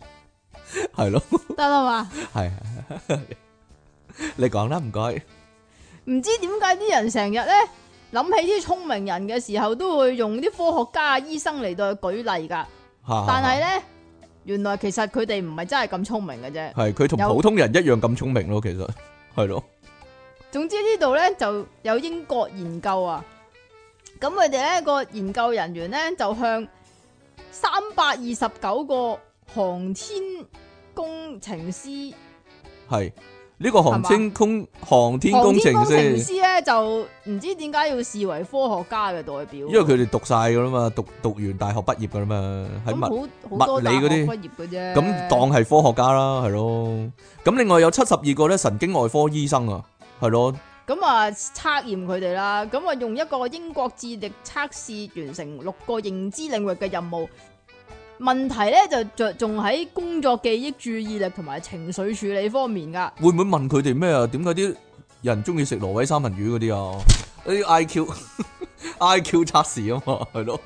係咯， 得啦嘛。 係係你講啦，唔該。 唔知點解啲人成日咧諗起啲聰明人嘅時候，都會用啲科學家、醫生嚟到去舉例噶。但係咧，原來其實佢哋唔係真係咁聰明嘅啫。 係佢同普通人一樣咁聰明咯，其實係咯。 總之呢度咧就有英國研究啊，咁佢哋咧個研究人員咧就向三百二十九個航天工程師係。呢個航天工航天工程師咧就唔知點解要視為科學家嘅代表， 因為佢哋讀晒噶啦嘛，讀讀完大學畢業噶啦嘛，喺物物理嗰啲畢業嘅啫，咁當係科學家啦，係咯。咁另外有七十二個咧神經外科醫生啊，係咯。咁啊測驗佢哋啦，咁啊用一個英國智力測試完成六個認知領域嘅任務。問題咧就着重喺工作記憶、注意力同埋情緒處理方面噶。 會唔會問佢哋咩啊？點解啲人中意食挪威三文魚嗰啲啊？啲 I Q I Q 測試啊嘛，係咯。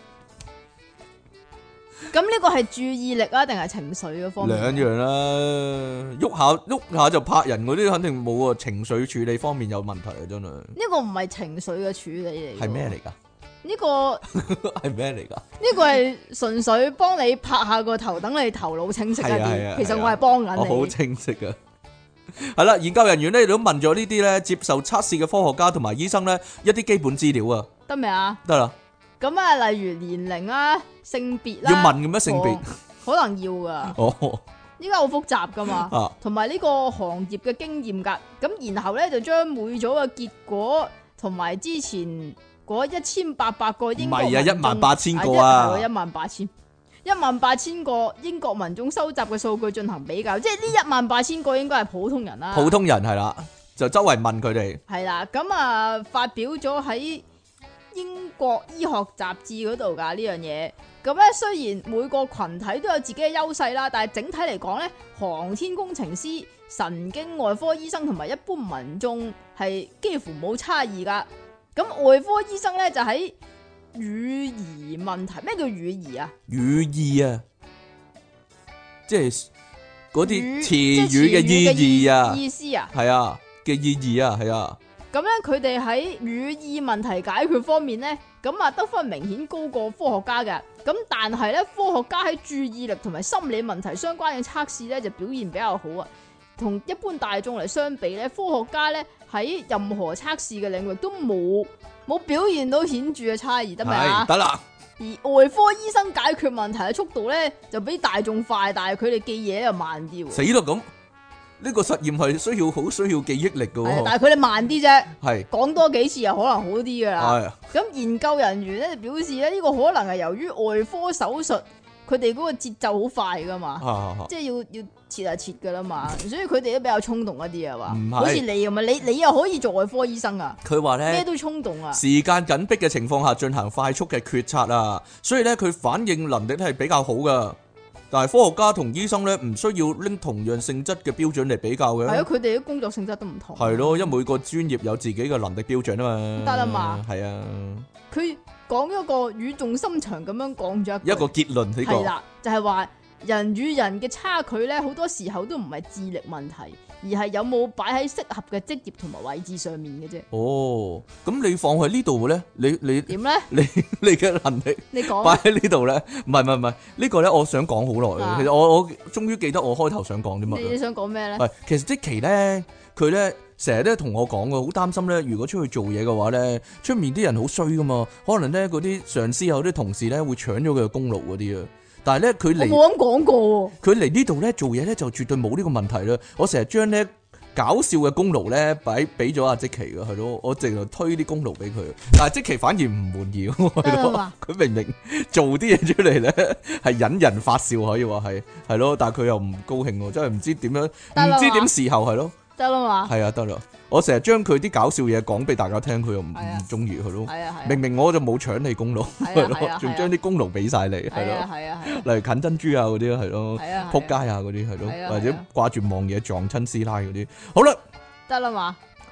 咁呢個係注意力啊，定係情緒嘅方面？ 兩樣啦，喐下喐下就拍人嗰啲，肯定冇啊。情緒處理方面有問題啊，真係。呢個唔係情緒嘅處理嚟。 係咩嚟噶？ 呢個係咩嚟噶？ 呢個係純粹幫你拍下個頭，等你頭腦清晰一啲。其實我係幫緊你。 我好清晰噶。係啦，研究人員咧都問咗呢啲咧接受測試嘅科學家同埋醫生咧一啲基本資料啊。 得未啊？ 得啦。 咁啊，例如年齡啊、性別啦， 要問嘅咩性別？ 可能要噶。 哦。依家好複雜噶嘛。同埋呢個行業嘅經驗噶。咁然後咧就將每組嘅結果同埋之前。嗰一千八百個英國民眾，唔係啊，一萬八千個啊，一萬八千，一萬八千個英國民眾收集嘅數據進行比較，即係呢一萬八千個應該係普通人啦。普通人係啦，就周圍問佢哋。係啦，咁啊發表咗喺英國醫學雜誌嗰度㗎呢樣嘢。咁咧雖然每個群體都有自己嘅優勢啦，但係整體嚟講咧，航天工程師、神經外科醫生同埋一般民眾係幾乎冇差異㗎。咁外科醫生咧就喺語義問題，咩叫語義啊？語義啊，即係嗰啲詞語嘅意義啊，意思啊，係啊嘅意義啊，係啊。咁咧佢哋喺語義問題解決方面咧，咁啊得分明顯高過科學家嘅。咁但係咧，科學家喺注意力同埋心理問題相關嘅測試咧就表現比較好啊。同一般大眾嚟相比咧，科學家咧喺任何測試嘅領域都冇冇表現到顯著嘅差異，得未啊？得啦。而外科醫生解決問題嘅速度咧就比大眾快，但係佢哋記嘢又慢啲。死啦咁，呢個實驗係需要好需要記憶力噶。但係佢哋慢啲啫。係講多幾次又可能好啲噶啦。咁研究人員咧表示咧，呢個可能係由於外科手術。佢哋嗰個節奏好快噶嘛，啊、即係要要切下切噶啦嘛，所以佢哋都比較衝動一啲啊嘛，唔係好似你咁啊，你你又可以做外科醫生啊？佢話咧咩都衝動啊，時間緊迫嘅情況下進行快速嘅決策啊，所以咧佢反應能力係比較好噶。但係科學家同醫生咧唔需要拎同樣性質嘅標準嚟比較嘅。係啊，佢哋啲工作性質都唔同。係咯，因為每個專業有自己嘅能力標準啊嘛。得啦嘛。係啊。佢。講一個語重心長咁樣講咗一個結論，呢個係啦，就係話人與人嘅差距咧，好多時候都唔係智力問題，而係有冇擺喺適合嘅職業同埋位置上面嘅啫。哦，咁你放喺呢度咧，你你點咧？你你嘅能力，你講擺喺呢度咧？唔係唔係唔係，呢個咧，我想講好耐嘅。其實我我終於記得我開頭想講啲乜。你想講咩咧？係，其實即期咧，佢咧。成日咧同我講嘅，好擔心咧。如果出去做嘢嘅話咧，出面啲人好衰噶嘛，可能咧嗰啲上司有啲同事咧會搶咗佢嘅功勞嗰啲啊。但係咧佢嚟，我冇咁講過。佢嚟呢度咧做嘢咧就絕對冇呢個問題啦。我成日將咧搞笑嘅功勞咧擺俾咗阿積淇嘅，係咯，我淨係推啲功勞俾佢。但係積淇反而唔滿意，係咯。佢明明做啲嘢出嚟咧係引人發笑，可以話係係咯，但係佢又唔高興，真係唔知點樣，唔知點時候係咯。得啦嘛，係啊，得啦。我成日將佢啲搞笑嘢講俾大家聽，佢又唔唔中意佢咯。係啊係。明明我就冇搶你功勞，係咯，仲將啲功勞俾晒你，係咯。係啊係。例如近珍珠啊嗰啲係咯，扑街啊嗰啲係咯，或者掛住望嘢撞親師奶嗰啲。好啦，得啦嘛。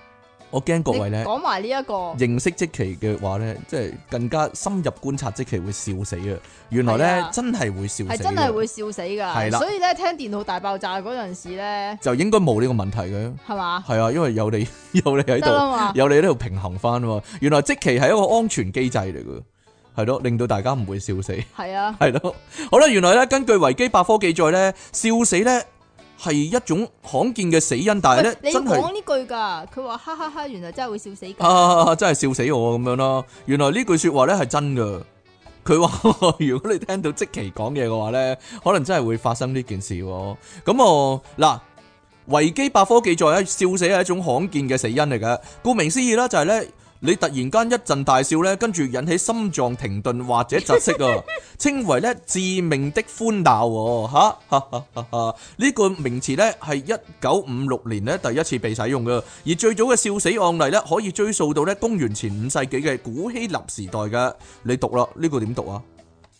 我驚各位咧講埋呢一個認識積淇嘅話咧，即係更加深入觀察積淇會笑死啊！原來咧、啊、真係會笑死，係真係會笑死噶。係啦，所以咧聽電腦大爆炸嗰陣時咧， 就應該冇呢個問題嘅，係嘛？係啊，因為有你有你喺度，有你喺度平衡翻啊！原來積淇係一個安全機制嚟嘅，係咯，令到大家唔會笑死。係啊，係咯。好啦，原來咧根據維基百科記載咧，笑死咧係一種罕見嘅死因，但係咧你真係講呢句噶，佢話哈哈哈，原來真係會笑死噶， 啊，真係笑死我咁樣啦！原來呢句說話咧係真噶，佢話如果你聽到積淇講嘢嘅話咧，可能真係會發生呢件事。咁我嗱維基百科記載咧，笑死係一種罕見嘅死因嚟嘅，顧名思義啦，就係咧。你突然間一陣大笑咧，跟住引起心臟停頓或者窒息啊，稱為咧致命的歡鬧嚇嚇嚇嚇嚇！呢個名詞咧係一九五六年咧第一次被使用嘅，而最早嘅笑死案例咧可以追溯到咧公元前五世紀嘅古希臘時代嘅。你讀啦，呢個點讀啊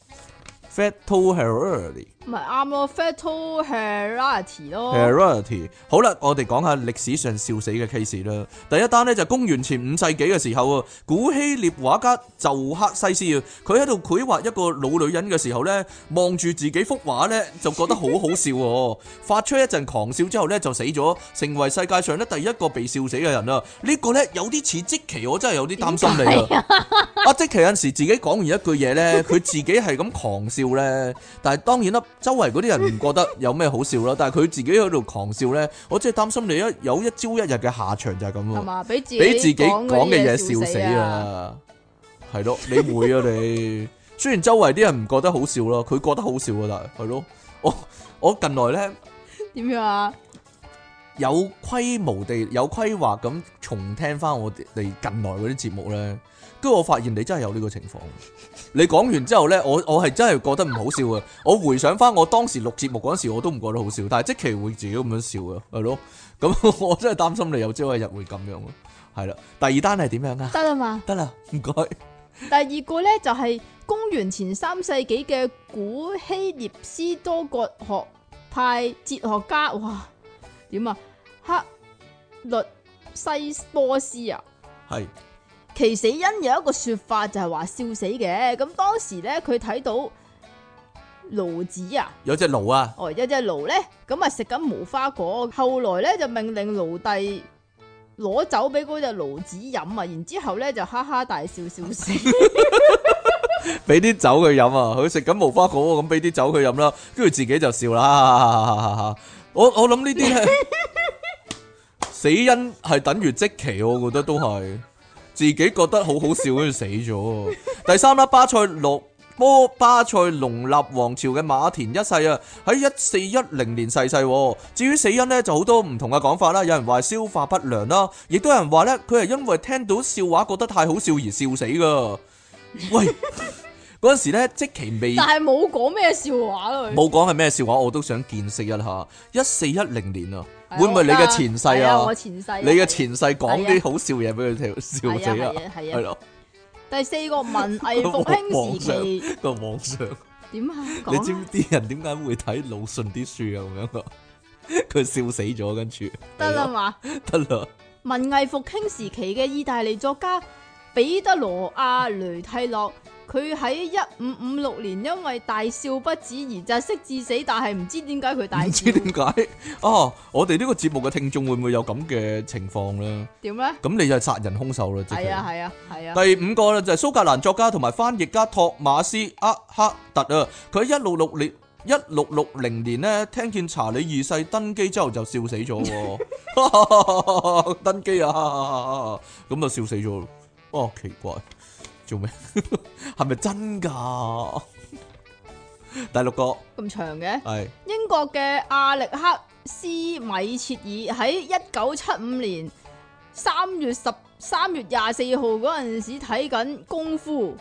？Fatal hilarity 咪啱咯 ，fatal hilarity 咯。 hilarity 好啦，我哋講下歷史上笑死嘅 case 啦。第一單呢，就公元前五世紀嘅時候啊，古希臘畫家就克西斯啊，佢喺度繪畫一個老女人嘅時候呢，望住自己幅畫呢，就覺得好好笑喎，發出一陣狂笑之後呢，就死咗，成為世界上咧第一個被笑死嘅人啊！呢、呢個呢，有啲似積淇，我真係有啲擔心你啊！阿積淇有陣時自己講完一句嘢呢，佢自己係咁狂笑呢，但係當然啦。周圍嗰啲人唔覺得有咩好笑啦，但係佢自己喺度狂笑咧，我真係擔心你一有一朝一日嘅下場就係咁喎。係嘛？俾自己俾自己講嘅嘢笑死啊！係咯，你會啊你？雖然周圍啲人唔覺得好笑咯，佢覺得好笑啊，但係係咯，我我近來咧點樣啊？有規模地有規劃咁重聽翻我哋近來嗰啲節目咧，跟住我發現你真係有呢個情況。你講完之後咧，我我係真係覺得唔好笑啊！我回想翻我當時錄節目嗰時，我都唔覺得好笑，但係積淇會自己咁樣笑啊，係咯。咁我真係擔心你有朝一日會咁樣咯。係啦，第二單係點樣啊？得啦嘛，得啦，唔該。 第二個咧就係公元前三世紀嘅古希臘斯多葛學派哲學家，哇，點啊？克律西波斯啊，係。其死因有一個說法就係話笑死嘅，咁當時咧佢睇到驢子啊，有隻驢啊，哦，有隻驢咧，咁啊食緊無花果，後來咧就命令奴隸攞酒俾嗰隻驢子飲啊，然之後咧就哈哈大笑笑死，俾啲酒佢飲啊，佢食緊無花果咁俾啲酒佢飲啦，跟住自己就笑啦，我我諗呢啲係死因係等於積淇，我覺得都係。自己覺得好好笑，跟住死咗。第三啦，巴塞羅波巴塞隆納王朝嘅馬田一世啊，喺一四一零年逝世。至於死因呢，就好多唔同嘅講法啦。有人話消化不良啦，亦都有人話呢，佢係因為聽到笑話覺得太好笑而笑死噶。喂，嗰陣時咧，積淇未，但係冇講咩笑話咯。冇講係咩笑話，我都想見識一下。一四一零年啊。會唔會你嘅前世啊？我前世，你嘅前世講啲好笑嘢俾佢聽，笑死啊！係啊，係咯。第四個文藝復興時期個皇上點啊？你知唔知啲人點解會睇魯迅啲書啊？咁樣個佢笑死咗，跟住得啦嘛，得啦。文藝復興時期嘅意大利作家彼得羅亞雷蒂洛。佢喺一五五六年因為大笑不止而窒息致死，但係唔知點解佢大笑。唔知點解啊？我哋呢個節目嘅聽眾會唔會有咁嘅情況咧？點咧？咁你就係殺人兇手啦！係啊係啊係啊！第五個咧就係蘇格蘭作家同埋翻譯家托馬斯厄克特啊！佢喺一六六年一六六零年咧聽見查理二世登基之後就笑死咗，登基啊！咁就笑死咗，哦，奇怪。做咩？係咪真噶？第六個咁長嘅係英國嘅阿力克斯米切爾喺一九七五年三月十三月廿四號嗰陣時睇緊功夫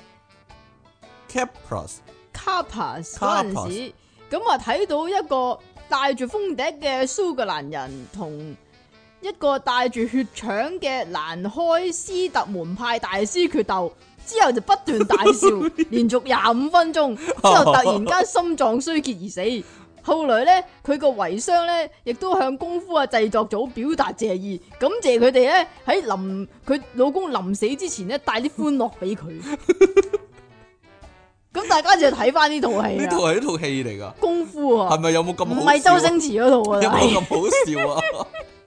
Capas Capas 嗰陣時，咁啊睇到一個戴住風笛嘅蘇格蘭人同一個帶住血腸嘅蘭開斯特門派大師決鬥。之後就不斷大笑，連續廿五分鐘，之後突然間心臟衰竭而死。 後來咧，佢個遺孀咧，亦都向功夫啊製作組表達謝意，感謝佢哋咧喺臨佢老公臨死之前咧帶啲歡樂俾佢。咁大家就睇翻呢套戲。 呢套係一套戲嚟噶， 功夫啊， 係咪有冇咁好笑？ 唔係周星馳嗰套啊， 有冇咁好笑啊？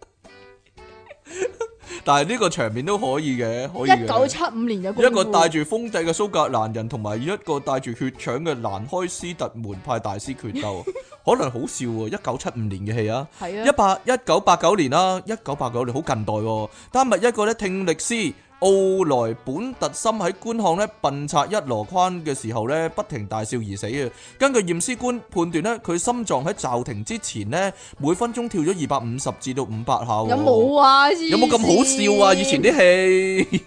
但係呢個場面都可以嘅，可以嘅。 一九七五年嘅功夫， 一個帶住風掣嘅蘇格蘭人，同埋一個帶住血腸嘅蘭開斯特門派大師決鬥，可能好笑喎。一九七五年嘅戲啊， 係啊， 一八一九八九年啦，一九八九年好近代喎。丹麥一個咧聽力師奧萊本特森喺觀看咧笨賊一籮筐嘅時候咧，不停大笑而死啊！根據驗屍官判斷咧，佢心臟喺驟停之前咧，每分鐘跳咗二百五十至到五百下。 有冇啊？ 有冇咁好笑啊？以前啲戲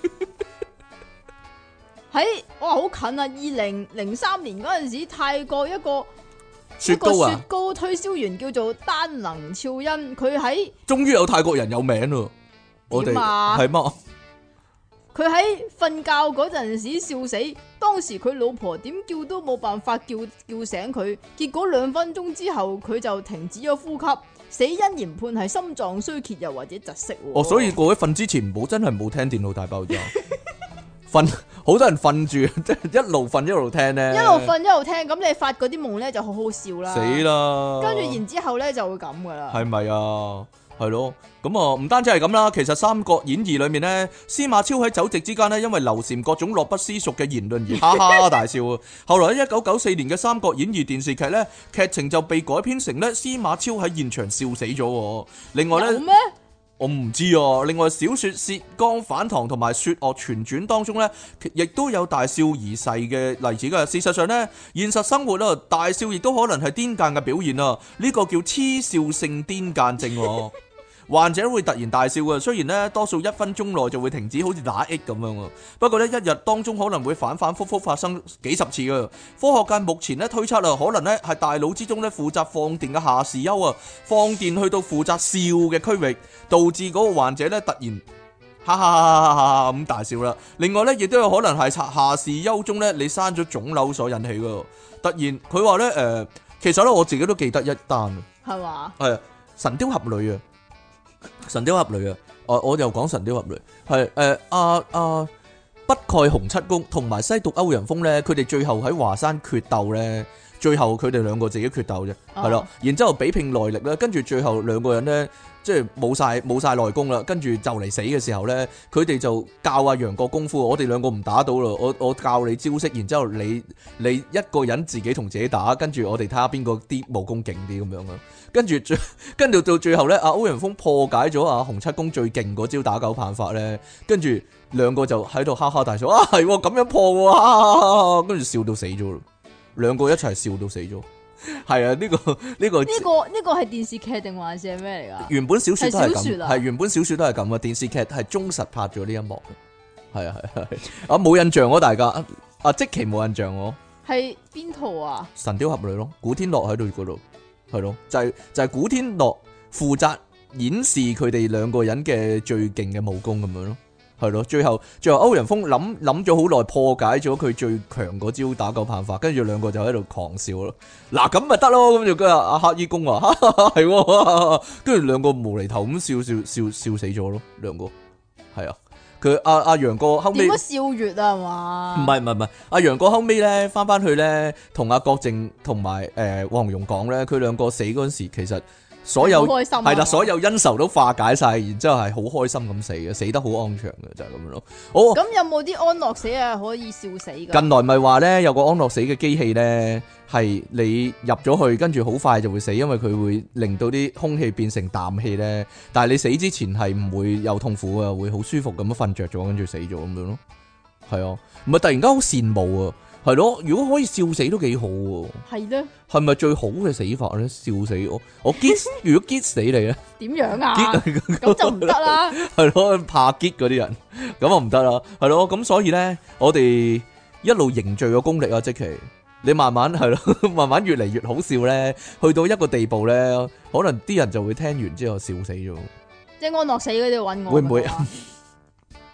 喺哇好近啊！二零零三年嗰陣時，泰國一個雪糕啊， 雪糕推銷員叫做丹能肖恩，佢喺終於有泰國人有名咯。我哋係嘛？ 佢喺瞓覺嗰陣時笑死，當時佢老婆點叫都冇辦法叫叫醒佢，結果兩分鐘之後佢就停止咗呼吸，死因研判係心臟衰竭又或者窒息。 哦，所以各位瞓之前唔好真係唔好聽電腦大爆炸，瞓好多人瞓住，即係一路瞓一路聽咧， 一路瞓一路聽，咁你發嗰啲夢咧就好好笑啦， 死啦！ 跟住然之後咧就會咁噶啦， 係咪啊？係咯，咁啊唔單止係咁啦，其實《三國演義》裏面咧，司馬昭喺酒席之間咧，因為劉禪各種樂不思蜀嘅言論而哈哈大笑。後來喺一九九四年嘅《三國演義》電視劇咧，劇情就被改編成咧司馬昭喺現場笑死咗。另外咧， 有咩？ 我唔知啊。另外小說《薛剛反唐》同埋《雪岳全傳》當中咧，亦都有大笑而逝嘅例子噶。事實上咧，現實生活啊，大笑亦都可能係癲癇嘅表現啊。呢個叫痴笑性癲癇症。患者會突然大笑嘅，雖然咧多數一分鐘內就會停止，好似打 A 咁樣。不過咧一日當中可能會反反复复發生幾十次嘅。科學界目前咧推測啊，可能咧係大腦之中咧負責放電嘅下視丘啊，放電去到負責笑嘅區域，導致嗰個患者咧突然哈哈哈哈咁大笑啦。另外咧亦都有可能係下視丘中咧你生咗腫瘤所引起嘅。突然佢話咧誒，其實咧我自己都記得一單， 係嘛？ 係神雕俠侶啊。神雕俠侶啊，我我又講神雕俠侶，係誒阿阿北丐洪七公同埋西毒歐陽鋒咧，佢哋最後喺華山決鬥咧，最後佢哋兩個自己決鬥啫，係咯，然之後比拼內力啦，跟住最後兩個人咧，即係冇晒冇晒內功啦，跟住就嚟死嘅時候咧，佢哋就教阿楊過功夫，我哋兩個唔打到啦，我我教你招式，然之後你你一個人自己同自己打，跟住我哋睇下邊個啲武功勁啲咁樣啊。跟住最跟住到最後咧，阿歐陽鋒破解咗阿洪七公最勁嗰招打狗棒法咧，跟住兩個就喺度哈哈大笑，啊係咁樣破喎，跟住笑到死咗咯，兩個一齊笑到死咗，係啊，呢個呢個呢個呢個係電視劇定還是係咩嚟㗎？ 原本小說都係咁， 係係原本小說都係咁啊，電視劇係忠實拍咗呢一幕嘅，係啊係係啊冇印象喎大家，啊即期冇印象喎， 係邊套啊？ 神雕俠侶咯，古天樂喺度嗰度。係咯，就係、是、就係、是、古天樂負責演示佢哋兩個人嘅最勁嘅武功咁樣咯，係咯，最後最後歐陽鋒諗諗咗好耐破解咗佢最強嗰招打狗棒法，跟住兩個就喺度狂笑咯，嗱咁咪得咯，咁就跟住阿黑衣公話係，跟住兩個無厘頭咁笑笑笑笑死咗咯，兩個係啊。佢阿阿楊過後尾點解笑月啊嘛？ 唔係唔係唔係，阿楊過後尾咧翻翻去咧，同阿郭靖同埋誒黃蓉講咧，佢兩個死嗰陣時，其實所有係啦，所有恩仇都化解晒，然之後係好開心咁死嘅，死得好安詳嘅，就係、是、咁樣咯。哦，咁有冇啲安樂死啊？可以笑死㗎？ 近來咪話咧有個安樂死嘅機器咧，係你入咗去，跟住好快就會死，因為佢會令到啲空氣變成氮氣咧。但係你死之前係唔會有痛苦啊，會好舒服咁樣瞓着咗，跟住死咗咁樣咯。係啊，唔係突然間好羨慕啊！係咯，如果可以笑死都幾好喎。係咧，係咪最好嘅死法咧？笑死我，我激如果激死你咧， 點樣啊？咁就唔得啦。 係咯，怕激嗰啲人，咁啊唔得啦。係咯，咁所以咧，我哋一路凝聚個功力啊，即其你慢慢係咯，慢慢越嚟越好笑咧，去到一個地步咧，可能啲人就會聽完之後笑死咗。 即係安樂死嗰啲揾我， 會唔會？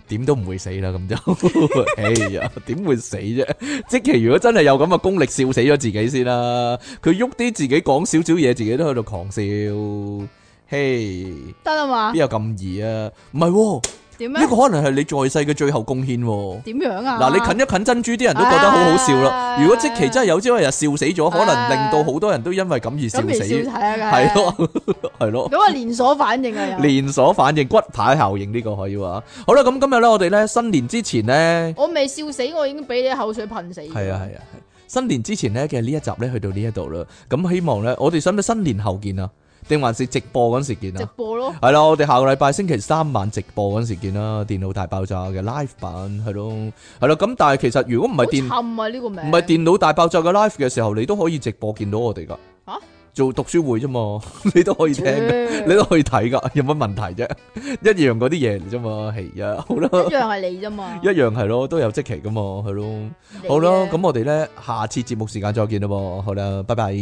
點都唔會死啦，咁就，哎呀，點會死啫？即其如果真係有咁嘅功力，笑死咗自己先啦。佢喐啲自己講少少嘢，自己都喺度狂笑，嘿， 得啦嘛？ 邊有咁易啊？唔係喎。 點樣？ 呢個可能係你在世嘅最後貢獻喎。 點樣啊？ 嗱，你近一近珍珠，啲人都覺得好好笑啦。如果即期真係有朝一日笑死咗，可能令到好多人都因為咁而笑死。係咯，係咯。 咁啊，連鎖反應啊， 連鎖反應，骨牌效應呢個可以話。好啦，咁今日咧，我哋咧新年之前咧， 我未笑死，我已經俾你口水噴死。 係啊，係啊，係。新年之前咧嘅呢一集咧，去到呢一度啦。咁希望咧，我哋使唔使新年後見啊？定還是直播嗰時見啊？ 直播咯， 係啦，我哋下個禮拜星期三晚直播嗰時見啦。電腦大爆炸嘅 live 版係咯，係咯。咁但係其實如果唔係電， 好慘啊呢個名， 唔係電腦大爆炸嘅 live 嘅時候，你都可以直播見到我哋噶。 吓？ 做讀書會啫嘛，你都可以聽嘅，你都可以睇噶，有乜問題啫？一樣嗰啲嘢嚟啫嘛，係啊，好啦， 一樣係你啫嘛， 一樣係咯，都有積淇噶嘛，係咯，好啦，咁我哋咧下次節目時間再見啦喎，好啦，拜拜。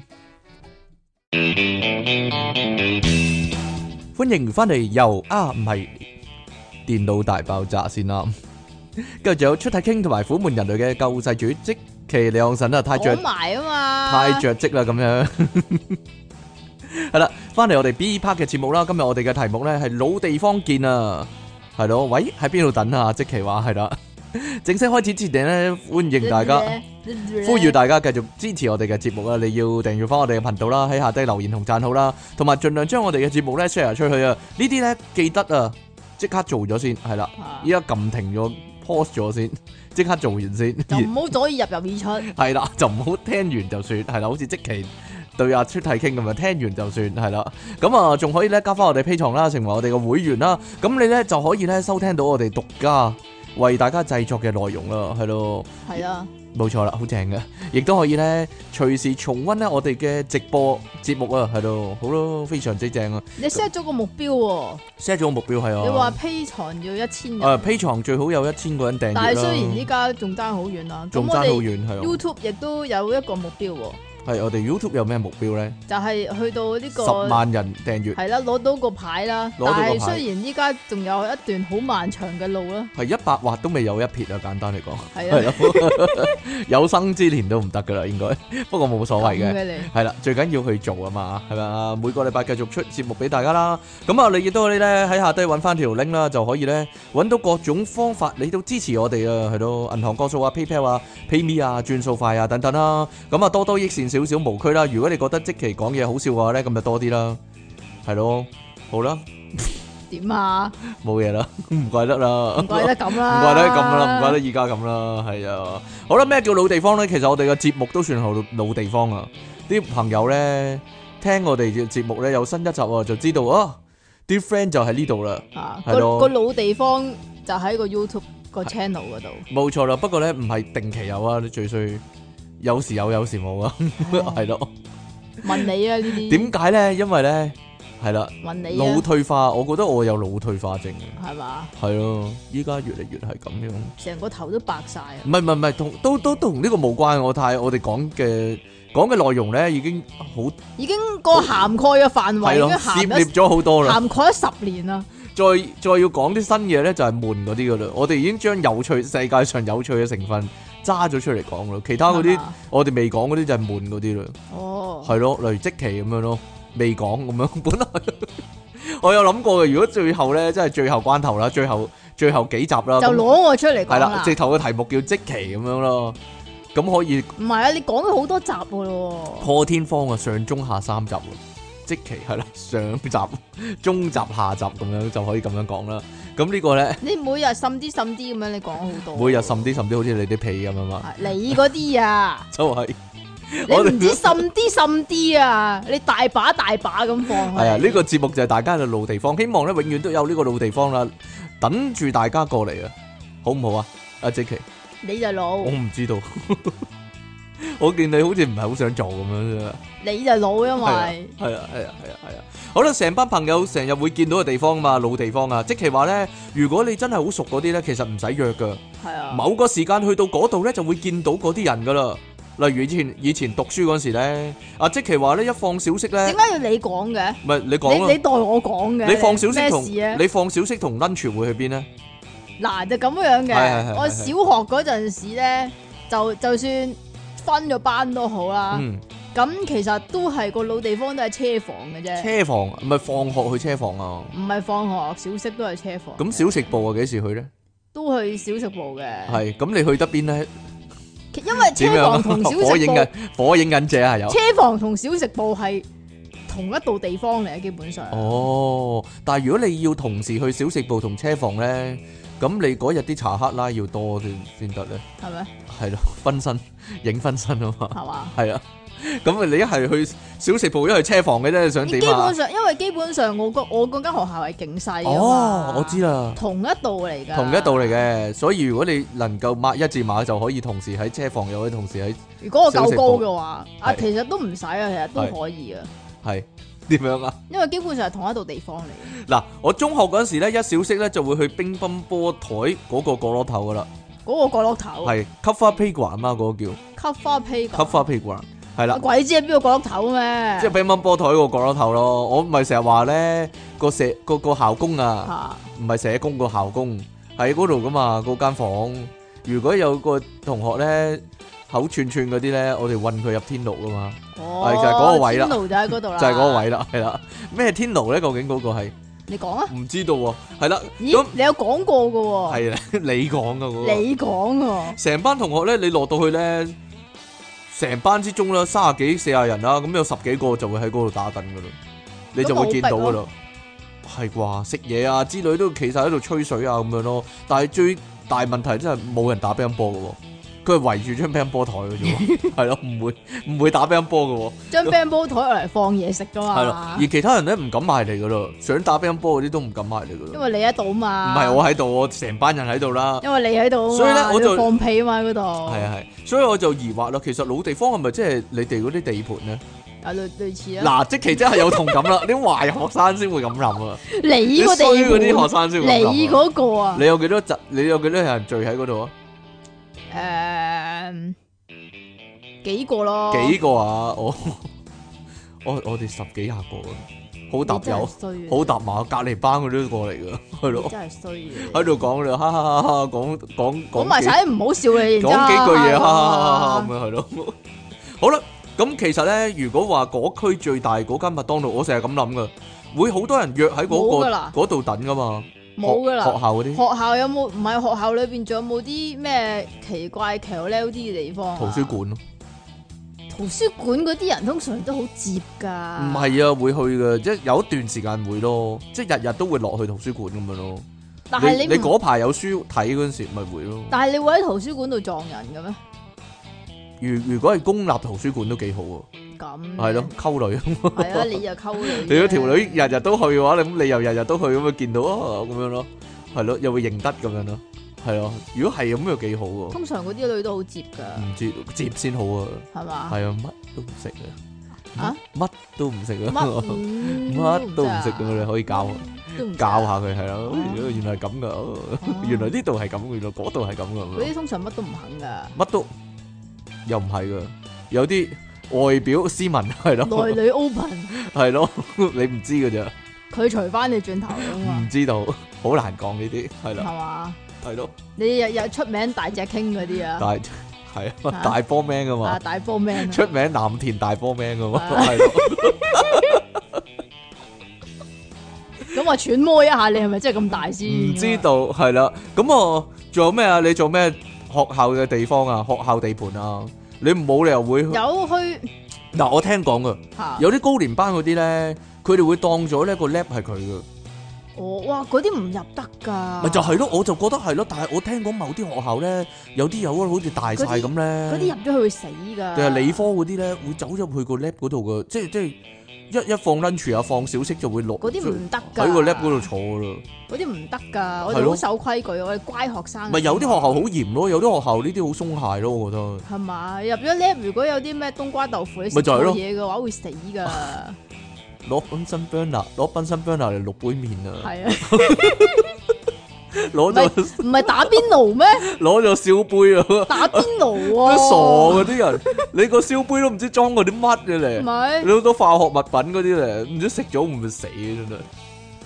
歡迎翻嚟，又啊唔係電腦大爆炸先啦，跟住仲有出體傾同埋苦悶人類嘅救世主積淇離岸神啊，太着埋啊嘛， 太着跡啦咁樣，係啦，翻嚟我哋 B part 嘅節目啦，今日我哋嘅題目咧係老地方見啊，係咯，喂喺邊度等啊？積淇話係啦。正式開始之前咧，歡迎大家，呼籲大家繼續支持我哋嘅節目啊！你要訂閱翻我哋嘅頻道啦，喺下低留言同讚好啦，同埋盡量將我哋嘅節目咧 share 出去啊！呢啲咧記得啊，即刻做咗先，係啦，依家撳停咗 pause 咗先，即刻做完先， 就唔好左耳入右耳出，係啦，就唔好聽完就算，係啦，好似積淇對阿出體傾咁啊，聽完就算，係啦，咁啊仲可以咧加翻我哋 Patreon啦，成為我哋嘅會員啦，咁你咧就可以咧收聽到我哋獨家為大家製作嘅內容啦，係咯，係啊，冇錯啦，好正嘅，亦都可以咧隨時重溫咧我哋嘅直播節目啊，係咯，好咯，非常之正啊！你 set 咗個目標喎 ，set 咗個目標係啊，你話 Patreon要一千人，誒 Patreon最好有一千個人訂閱啦，但係雖然依家仲爭好遠啦，仲爭好遠係 YouTube 亦都有一個目標喎。係我哋 YouTube 有咩目標咧？就係去到呢個十萬人訂閱，係啦，攞到個牌啦。但係雖然依家仲有一段好漫長嘅路啦，係一百劃都未有一撇啊！簡單嚟講，係啊，有生之年都唔得噶啦，應該。不過冇所謂嘅，係啦，最緊要去做啊嘛，係咪啊？每個禮拜繼續出節目俾大家啦。咁啊，你亦都可以咧喺下低揾翻條 link 啦，就可以咧揾到各種方法，你都支持我哋啊，係咯，銀行個數啊、PayPal 啊、PayMe 啊、轉數快啊等等啦。咁啊，多多益善。少少無區啦，如果你覺得積淇講嘢好笑嘅話咧，咁就多啲啦，係咯，好啦，點啊？冇嘢啦，唔怪得啦，唔怪得咁啦，唔怪得咁啦，唔怪得而家咁啦，係啊，好啦，咩叫老地方咧？其實我哋嘅節目都算係老地方啊！啲朋友咧聽我哋嘅節目咧有新一集啊，就知道啊，啲 friend 就喺呢度啦，係咯，個老地方就喺個 YouTube 個 channel 嗰度，冇錯啦。不過咧唔係定期有啊，你最衰。有時有，有時冇啊，係咯。問你啊呢啲？點解咧？因為咧，係啦。問你啊。腦退化，我覺得我有腦退化症。係嘛？係咯，依家越嚟越係咁樣。成個頭都白晒啊！唔係唔係唔係，同都都同呢個無關。我太我哋講嘅講嘅內容咧，已經好已經個涵蓋嘅範圍已經涉獵咗好多啦，涵蓋咗十年啦。再再要講啲新嘢咧，就係悶嗰啲噶啦。我哋已經將有趣世界上有趣嘅成分揸咗出嚟講咯，其他嗰啲我哋未講嗰啲就係悶嗰啲啦。哦，係咯，例如積淇咁樣咯，未講咁樣。本來我有諗過嘅，如果最後咧，即係最後關頭啦，最後最後幾集啦，就攞我出嚟講啦。係啦，直頭嘅題目叫積淇咁樣咯，咁可以。唔係啊，你講咗好多集噶咯。破天荒啊，上中下三集。積淇係啦，上集、中集、下集咁樣就可以咁樣講啦。咁呢個咧，你每日滲啲滲啲咁樣，你講好多。每日滲啲滲啲，好似你啲屁咁啊嘛。你嗰啲啊，就係你唔知滲啲滲啲啊，你大把大把咁放。係啊，呢個節目就係大家嘅老地方，希望咧永遠都有呢個老地方啦，等住大家過嚟啊，好唔好啊？阿積淇，你就老，我唔知道。我見你好似唔係好想做咁樣啫，你就老，因為係啊係啊係啊係啊，好啦，成班朋友成日會見到嘅地方啊嘛，老地方啊，即係話咧，如果你真係好熟嗰啲咧，其實唔使約噶，係啊，某個時間去到嗰度咧就會見到嗰啲人噶啦。例如以前以前讀書嗰時咧，阿積淇話咧一放小息咧，點解要你講嘅？唔係你講，你你代我講嘅，你放小息同你放小息同 lunch 會去邊咧？ 嗱就咁樣係係係嘅。我小學嗰陣時咧，就就算分咗班都好啦。 嗯， 咁其實都係個老地方都係車房嘅啫。 車房唔係放學去車房啊？ 唔係放學，小息都係車房。 咁小食部啊幾時去咧？ 都去小食部嘅。 係，咁你去得邊咧？ 因為車房同小食部火影緊火影忍者係有。 車房同小食部係同一度地方嚟嘅，基本上。 哦，但係如果你要同時去小食部同車房咧，咁你嗰日啲查克拉要多啲先得咧。 係咩？ 係咯，分身影分身啊嘛。 係嘛？ 係啊。咁啊，你一係去小食部，一係車房嘅啫，你想點啊？ 基本上，因為基本上我個我嗰間學校係勁細啊嘛。 哦，我知啦， 同一度嚟噶。 同一度嚟嘅，所以如果你能夠抹一字馬，就可以同時喺車房，又可以同時喺。 如果我夠高嘅話，啊，其實都唔使啊，其實都可以啊。 係點樣啊？ 因為基本上係同一度地方嚟嘅。 嗱，我中學嗰陣時咧，一小息咧就會去乒乓波台嗰個角落頭噶啦。 嗰個角落頭係 cover playground 啊嘛，嗰個叫 cover playground。 cover playground。係啦， 鬼知係邊個角落頭咩？ 即係乒乓波台個角落頭咯。我唔係成日話咧個社個個校工啊，唔係社工個校工喺嗰度噶嘛，嗰間房。如果有個同學咧口串串嗰啲咧，我哋運佢入天牢噶嘛。 哦， 係就係嗰個位啦。 天牢就喺嗰度啦。 就係嗰個位啦，係啦。咩天牢咧？究竟嗰個係？ 你講啊？ 唔知道喎。係啦。 咦？你有講過噶喎？ 係啊，你講噶嗰個。 你講喎。成班同學咧，你落到去咧。成班之中啦，三十幾四十人啦，咁有十幾個就會喺嗰度打緊噶啦，你就會見到噶啦，係啩？食嘢啊之類都企晒喺度吹水啊咁樣咯。但係最大問題真係冇人打乒乓波噶，佢係圍住張乒乓波台嘅啫，係咯，唔會唔會打乒乓波噶。張乒乓波台嚟放嘢食噶嘛。 係咯，而其他人咧唔敢埋嚟噶啦，想打乒乓波嗰啲都唔敢埋嚟噶啦。 因為你喺度嘛。唔係我喺度，我成班人喺度啦。 因為你喺度， 所以咧我就放屁啊嘛喺嗰度。 係啊係，所以我就疑惑啦，其實老地方係咪即係你哋嗰啲地盤咧？ 啊類類似啊。 嗱，即其真係有同感啦，啲壞學生先會咁諗啊。 你個地盤嗰啲學生先會咁諗。 你嗰個啊？ 你有幾多集？你有幾多人聚喺嗰度啊？ 誒，幾個咯？ 幾個啊？我我我哋十幾廿個啊，好搭友，好搭馬，隔籬班嗰啲都過嚟噶，係咯。真係衰嘅。喺度講你，哈哈哈哈，講講講埋晒唔好笑嘅， 講幾句嘢，哈哈哈哈咁樣係咯。好啦，咁其實咧，如果話嗰區最大嗰間麥當勞，我成日咁諗噶，會好多人約喺嗰個嗰度等噶嘛。 冇噶啦， 學校嗰啲學校有冇？唔係學校裏邊仲有冇啲咩奇怪奇溜溜啲嘅地方？ 圖書館咯， 圖書館嗰啲人通常都好接噶。 唔係啊，會去噶，即係有一段時間會咯，即係日日都會落去圖書館咁樣咯。 但係你你嗰排有書睇嗰陣時，咪會咯。 但係你會喺圖書館度撞人嘅咩？ 如如果係公立圖書館都幾好喎。 咁係咯，溝女。 係啊，你又溝女。 你嗰條女日日都去嘅話，咁你又日日都去咁啊，見到啊咁樣咯，係咯，又會認得咁樣咯，係咯。如果係咁又幾好喎。通常嗰啲女都好接噶。 唔知接先好啊。係嘛？係啊，乜都唔識啊。啊？乜都唔識啊？乜都唔識咁你可以教教下佢係咯。原來係咁噶，原來呢度係咁，原來嗰度係咁噶。 嗰啲通常乜都唔肯噶。 乜都又唔係噶，有啲。外表斯文係咯， 內裏 open 係咯，你唔知噶咋？ 佢除翻你轉頭啊嘛？ 唔知道，好難講呢啲係啦， 係嘛？ 係咯， 你日日出名大隻傾嗰啲啊？ 大係啊，大波 man 噶嘛？ 啊，大波 man 出名藍田大波 man 噶嘛？係咯。 咁我揣摩一下，你係咪真係咁大先？ 唔知道係啦。咁我仲有咩啊？你做咩學校嘅地方啊？學校地盤啊？你冇理由會有去嗱，我聽講噶，有啲高年班嗰啲咧，佢哋會當咗呢個 lab 係佢噶。 哦，哇，嗰啲唔入得噶。 咪就係咯，我就覺得係咯，但係我聽講某啲學校咧，有啲有啊，好似大晒咁咧。 嗰啲入咗去會死噶。 定係理科嗰啲咧，會走入去個 lab 嗰度噶，即係即係一一放 lunch 啊，放小息就會落。 嗰啲唔得噶。 喺個 lab 嗰度坐噶啦。 嗰啲唔得噶，我哋好守規矩，我哋乖學生。 咪有啲學校好嚴咯，有啲學校呢啲好鬆懈咯，我覺得。 係嘛？入咗 lab 如果有啲咩冬瓜豆腐，你食錯嘢嘅話會死噶。 攞賓森 burner， 攞賓森 burner 嚟淥杯麵啊！係啊，攞咗唔係打邊爐咩？ 攞咗燒杯啊！ 打邊爐啊！ 傻嗰啲人，你個燒杯都唔知裝過啲乜嘅咧， 唔係你好多化學物品嗰啲咧，唔知食咗會唔會死真係。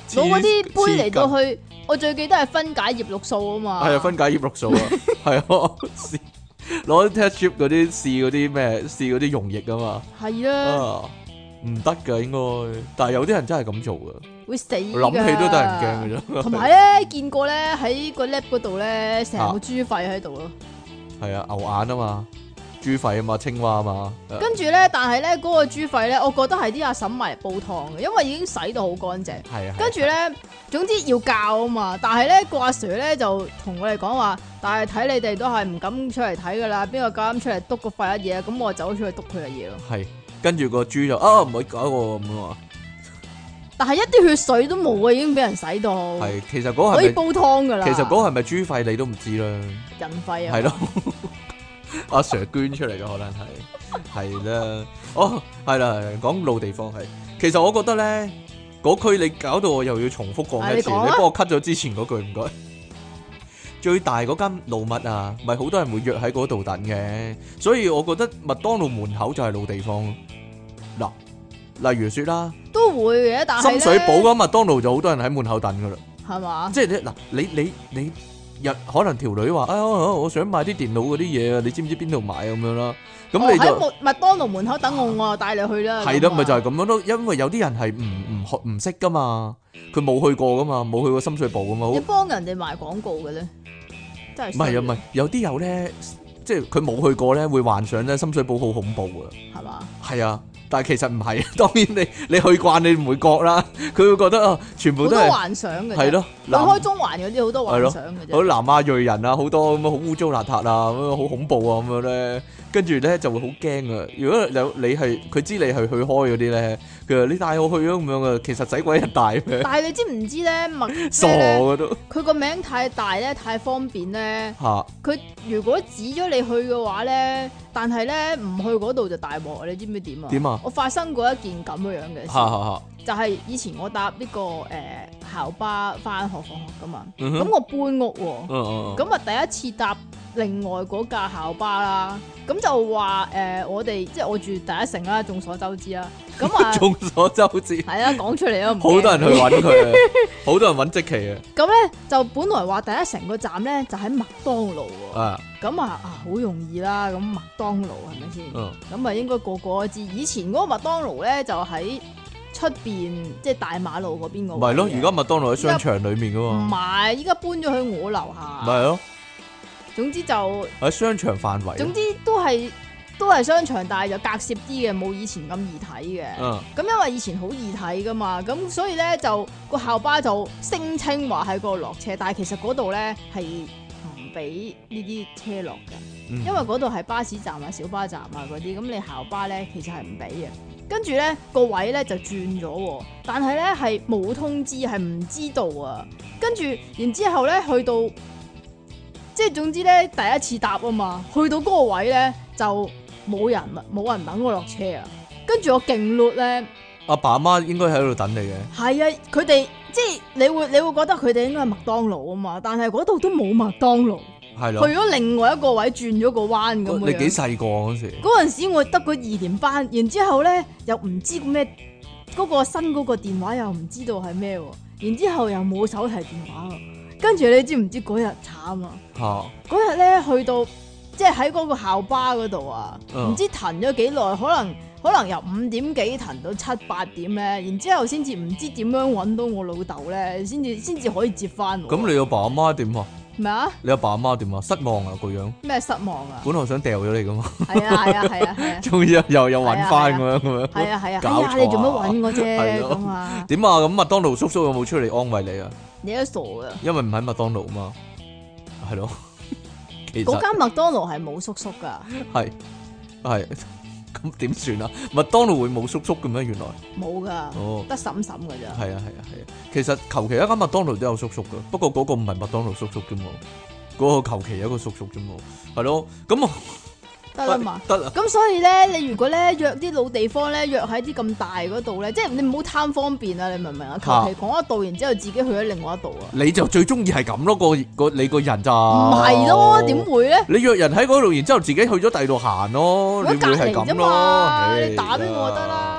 攞嗰啲杯嚟到去，我最記得係分解葉綠素啊嘛。 係啊，分解葉綠素啊，係啊，攞啲 test strip 嗰啲試嗰啲咩，試嗰啲溶液啊嘛。 係啊， 唔得噶應該，但係有啲人真係咁做噶， 會死㗎。 諗起都得人驚嘅啫。 同埋咧，見過咧喺個 lab 嗰度咧，成個豬肺喺度咯。 係啊，牛眼啊嘛。豬肺啊嘛，青蛙啊嘛， 跟住咧，但係咧嗰個豬肺咧，我覺得係啲阿嬸買嚟煲湯嘅，因為已經洗到好乾淨。 係啊， 跟住咧，總之要教啊嘛。但係咧個阿 Sir 咧就同我哋講話，但係睇你哋都係唔敢出嚟睇噶啦，邊個夠膽出嚟篤個肺一嘢，咁我走出去篤佢嘅嘢咯。係， 跟住個豬就啊唔可以搞我咁啊。但係一啲血水都冇啊，已經俾人洗到。 係，其實嗰係可以煲湯噶啦。 其實嗰係咪豬肺你都唔知啦。 人肺啊。係咯。阿 Sir 捐出嚟嘅可能係係啦，哦係啦，講老地方係，其實我覺得咧嗰句你搞到我又要重複講一次，你幫我 cut 咗之前嗰句唔該。最大嗰間老麥啊，咪好多人會約喺嗰度等嘅，所以我覺得麥當勞門口就係老地方咯。嗱，例如說啦，都會嘅，但係深水埗嗰麥當勞就好多人喺門口等噶啦，係嘛？即係你嗱，你你你。你日可能條女話啊、哎，我想買啲電腦嗰啲嘢啊，你知唔知邊度買咁樣啦？咁你就喺麥當勞門口等我，我帶你去啦。係啦，咪就係咁樣咯。因為有啲人係唔唔學唔識噶嘛，佢冇去過噶嘛，冇去過深水埗噶嘛。你幫人哋賣廣告嘅咧，真係唔係啊？唔係有啲有咧，即係佢冇去過咧，會幻想咧深水埗好恐怖噶，係嘛？係啊。但係其實唔係，當然你你去慣你唔會覺啦，佢會覺得啊，全部都係幻想嘅。係咯，離開中環嗰啲好多幻想嘅啫。好南亞裔人啊，好多咁樣好污糟邋遢啊，咁樣好恐怖啊，咁樣咧，跟住咧就會好驚啊！如果有你係佢知你係去開嗰啲咧，佢話你帶我去啊咁樣啊，其實使鬼人帶咩？但係你知唔知咧？麥傻嘅都，佢個名太大咧，太方便咧。嚇！佢如果指咗你去嘅話咧，但係咧唔去嗰度就大鑊，你知唔知點啊？點啊？我發生過一件咁樣嘅事，就係以前我搭呢個誒校巴翻學放學噶嘛，咁我搬屋，咁啊第一次搭另外嗰架校巴啦，咁就話誒我哋即係我住第一城啦，眾所周知啦，咁啊眾所周知係啊，講出嚟啊，好多人去揾佢，好多人揾積淇啊，咁咧就本來話第一城個站咧就喺麥當勞啊。咁啊啊好容易啦，咁麥當勞係咪先？咁啊、嗯、應該個個都知。以前嗰個麥當勞咧就喺出邊，即係大馬路嗰邊個。唔係咯，而家麥當勞喺商場裏面噶嘛。唔係，依家搬咗去我樓下。唔係咯。總之就喺商場範圍。總之都係都係商場，但係就隔涉啲嘅，冇以前咁易睇嘅。嗯。咁因為以前好易睇噶嘛，咁所以咧就個校巴就聲稱話喺嗰度落車，但係其實嗰度咧係俾呢啲車落嘅，嗯、因為嗰度係巴士站啊、小巴站啊嗰啲，咁你校巴咧其實係唔俾嘅。跟住咧個位咧就轉咗，但係咧係冇通知，係唔知道啊。跟住然之後咧去到，即係總之咧第一次搭啊嘛，去到嗰個位咧就冇人啦，冇人等我落車啊。跟住我勁碌咧，阿爸阿媽應該喺度等你嘅。係啊，佢哋。即係你會你會覺得佢哋應該係麥當勞啊嘛，但係嗰度都冇麥當勞，係咯，去咗另外一個位轉咗個彎咁樣。你幾細個嗰時？嗰陣時我得個二年班，然之後咧又唔知咩嗰、嗰個新嗰個電話又唔知道係咩，然之後又冇手提電話，跟住你知唔知嗰日慘啊？嗰日咧去到即係喺嗰個校巴嗰度啊，唔、嗯、知騰咗幾耐，可能。可能由五點幾騰到七八點咧，然之後先至唔知點樣揾到我老豆咧，先至先至可以接翻我。咁你阿爸阿媽點啊？咩啊？你阿爸阿媽點啊？失望啊個樣。咩失望啊？本來想掉咗你噶嘛。係啊係啊係啊係啊。終於又又揾翻咁樣咁樣。係啊係啊。搞錯啊！你做乜揾我啫？咁啊？點啊？咁麥當勞叔叔有冇出嚟安慰你啊？你都傻噶。因為唔喺麥當勞啊嘛。係咯。嗰間麥當勞係冇叔叔噶。係係。咁點算啊？麥當勞會冇叔叔嘅咩？原來冇噶，哦，得嬸嬸噶咋？係啊係啊係啊，其實求其一間麥當勞都有叔叔噶，不過嗰個唔係麥當勞叔叔啫嘛，嗰個求其一個叔叔啫嘛，係咯，咁啊得啦嘛，得啦。咁所以咧，你如果咧約啲老地方咧，約喺啲咁大嗰度咧，即係你唔好貪方便啊！你明唔明啊？求其講一度，然之後自己去咗另外一度啊！你就最中意係咁咯，個個你個人咋？唔係咯，點會咧？你約人喺嗰度，然之後自己去咗第二度行咯，你會係咁咯？你打俾我得啦。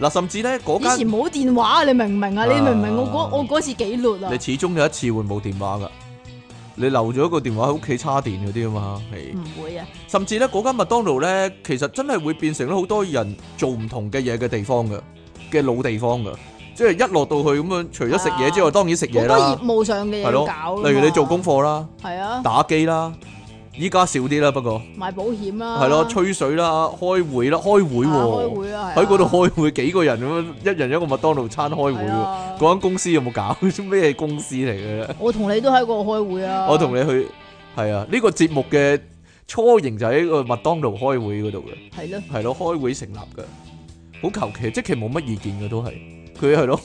嗱，甚至咧嗰間以前冇電話，你明唔明啊？你明唔明我嗰啊我嗰次幾劣啊？ 你始終有一次會冇電話噶，你留咗個電話喺屋企叉電嗰啲啊嘛，係。 唔會啊！ 甚至咧嗰間麥當勞咧，其實真係會變成咗好多人做唔同嘅嘢嘅地方噶，嘅老地方噶。即係一落到去咁樣，除咗食嘢之外，當然食嘢啦。 好多業務上嘅嘢要搞。 例如你做功課啦， 係啊， 打機啦，依家少啲啦，不過賣保險啦， 係咯，吹水啦，開會啦，開會喎， 開會啊， 喺嗰度開會幾個人咁樣，一人一個麥當勞餐開會喎。嗰間公司有冇搞？咩公司嚟嘅咧？ 我同你都喺嗰度開會啊。 我同你去係啊，呢個節目嘅雛形就喺個麥當勞開會嗰度嘅。 係咯， 係咯，開會成立嘅，好求其，即係冇乜意見嘅都係。佢係咯，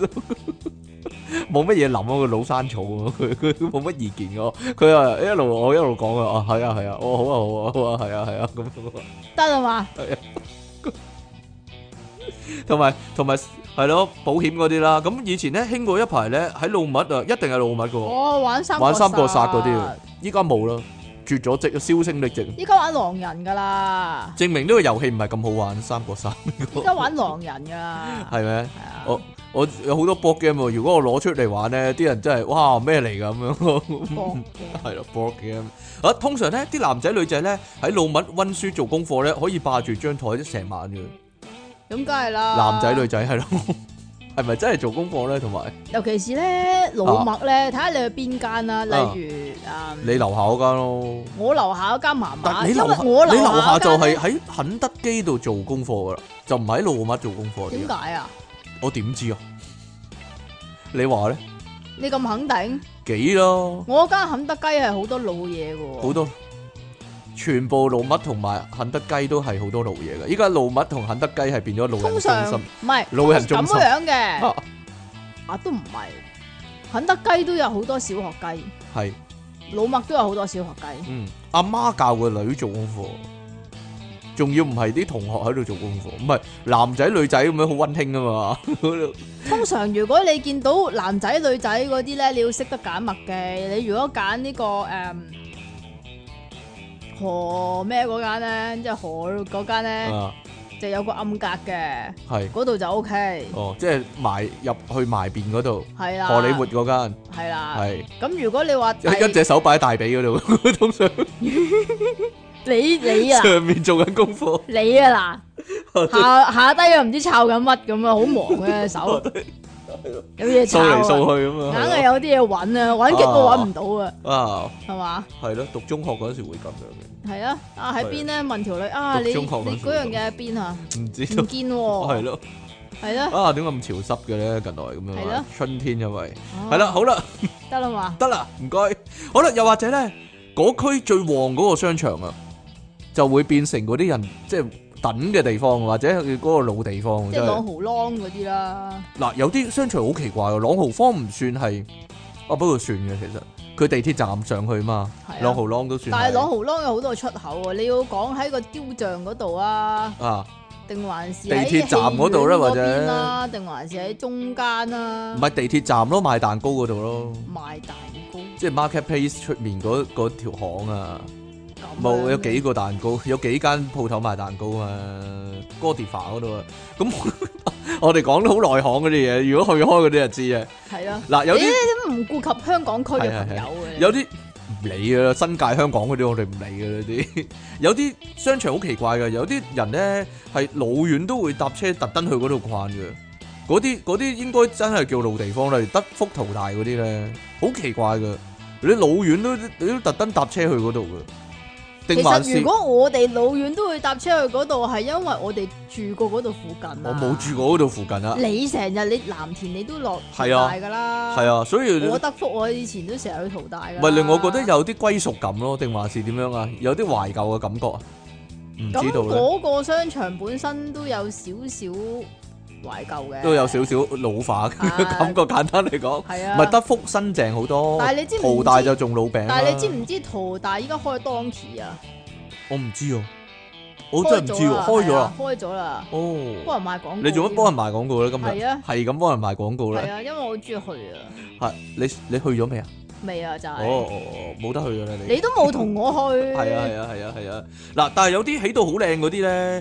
冇乜嘢諗啊！個老山草啊，佢佢冇乜意見嘅，佢啊一路我一路講啊，啊係啊係啊，哦好啊好啊好啊，係啊係啊咁得啦嘛， 係啊，同埋同埋係咯保險嗰啲啦，咁以前咧興過一排咧喺老麥啊，一定係老麥嘅， 我玩三玩三國殺嗰啲，依家冇啦。絕咗跡，銷聲匿跡。 依家玩狼人噶啦， 證明呢個遊戲唔係咁好玩，三國殺。 依家玩狼人噶啦， 係咩？ 係啊。 我我有好多 board game 喎，如果我攞出嚟玩咧，啲人真係哇咩嚟㗎咁樣。係咯 board game。啊，通常咧啲男仔女仔咧喺老麥溫書做功課咧，可以霸住張台成晚嘅。 咁梗係啦。 男仔女仔係咯。係咪真係做功課咧？同埋， 尤其是咧老麥咧，睇下你去邊間啦。例如啊， 你樓下嗰間咯。 我樓下嗰間麻麻， 因為我你樓下就係喺肯德基度做功課噶啦，就唔喺老麥做功課。 點解啊？ 我點知啊？你話咧？ 你咁肯定？ 幾咯？ 我間肯德基係好多老嘢噶。 好多。全部老麥同埋肯德基都係好多老嘢嘅，依家老麥同肯德基係變咗老人中心， 唔係老人中心咁樣嘅，啊，啊都唔係，肯德基都有好多小學雞， 係老麥都有好多小學雞。 嗯，阿媽教個女做功課，仲要唔係啲同學喺度做功課，唔係男仔女仔咁樣好溫馨啊嘛。 通常如果你見到男仔女仔嗰啲咧，你要識得揀麥嘅。你如果揀呢、這個誒。嗯河咩嗰間咧，即係河嗰間咧，啊、就有個暗格嘅，係嗰度就 O K。 哦，即係埋入去埋邊嗰度， 係啦， 荷里活嗰間， 係啦， 係。 咁如果你話一隻手擺喺大髀嗰度，通常你你啊， 上面做緊功課， 你啊嗱，下下低又唔知抄緊乜咁啊，好忙嘅手。有嘢掃嚟掃去咁啊， 硬係有啲嘢揾啊，揾極都揾唔到啊，啊，係嘛？ 係咯，讀中學嗰時會咁樣嘅。 係啊，啊喺邊咧？問條女啊，你你嗰樣嘢喺邊啊？唔知唔見喎。係咯，係咯。啊，點解咁潮濕嘅咧？近來咁樣。係咯，春天因為係啦，好啦， 得啦嘛， 得啦，唔該。好啦，又或者咧，嗰區最旺嗰個商場啊，就會變成嗰啲人即係等嘅地方，或者佢嗰個老地方， 即係朗豪坊嗰啲啦。 嗱，有啲商場好奇怪嘅，朗豪坊唔算係，啊不過算嘅其實，佢地鐵站上去嘛，朗豪坊都算。 但係朗豪坊有好多出口啊，你要講喺個雕像嗰度啊， 啊， 定還是地鐵站嗰度咧，或者， 定還是喺中間啊？ 唔係地鐵站咯，賣蛋糕嗰度咯。 賣蛋糕， 即係 Marketplace 出面嗰嗰條巷啊。冇，有幾個蛋糕，有幾間鋪頭賣蛋糕啊，Godiva嗰度啊。咁我哋講得好內行嗰啲嘢，如果去開嗰啲就知啊。係咯。嗱，有啲都唔顧及香港區嘅朋友嘅。 有啲唔理噶啦，新界香港嗰啲我哋唔理噶啦啲。有啲商場好奇怪嘅，有啲人咧係老遠都會搭車特登去嗰度逛嘅。嗰啲嗰啲應該真係叫老地方啦，例如德福淘大嗰啲咧，好奇怪嘅。你老遠都你都特登搭車去嗰度嘅。 其實如果我哋老遠都會搭車去嗰度，係因為我哋住過嗰度附近啊。 我冇住過嗰度附近啊。 你成日你藍田你都落淘大噶啦。 係啊，所以我德福我以前都成日去淘大噶。 咪令我覺得有啲歸屬感咯，定還是點樣啊？有啲懷舊嘅感覺啊？唔知道咧。咁嗰個商場本身都有少少懷舊嘅， 都有少少老化嘅感覺。簡單嚟講，係啊，唔係德福新淨好多， 但係你知唔知淘大就仲老餅。 但係你知唔知淘大依家開 Donkey 啊？ 我唔知啊，我真係唔知喎，開咗啦， 開咗啦。 哦， 幫人賣廣告。 你做乜幫人賣廣告咧？今日係啊， 係咁幫人賣廣告咧。 係啊，因為我好中意去啊。 係你你去咗未啊？ 未啊，就係。 哦哦哦，冇得去㗎啦你。 你都冇同我去。 係啊係啊係啊係啊！嗱，但係有啲起到好靚嗰啲咧。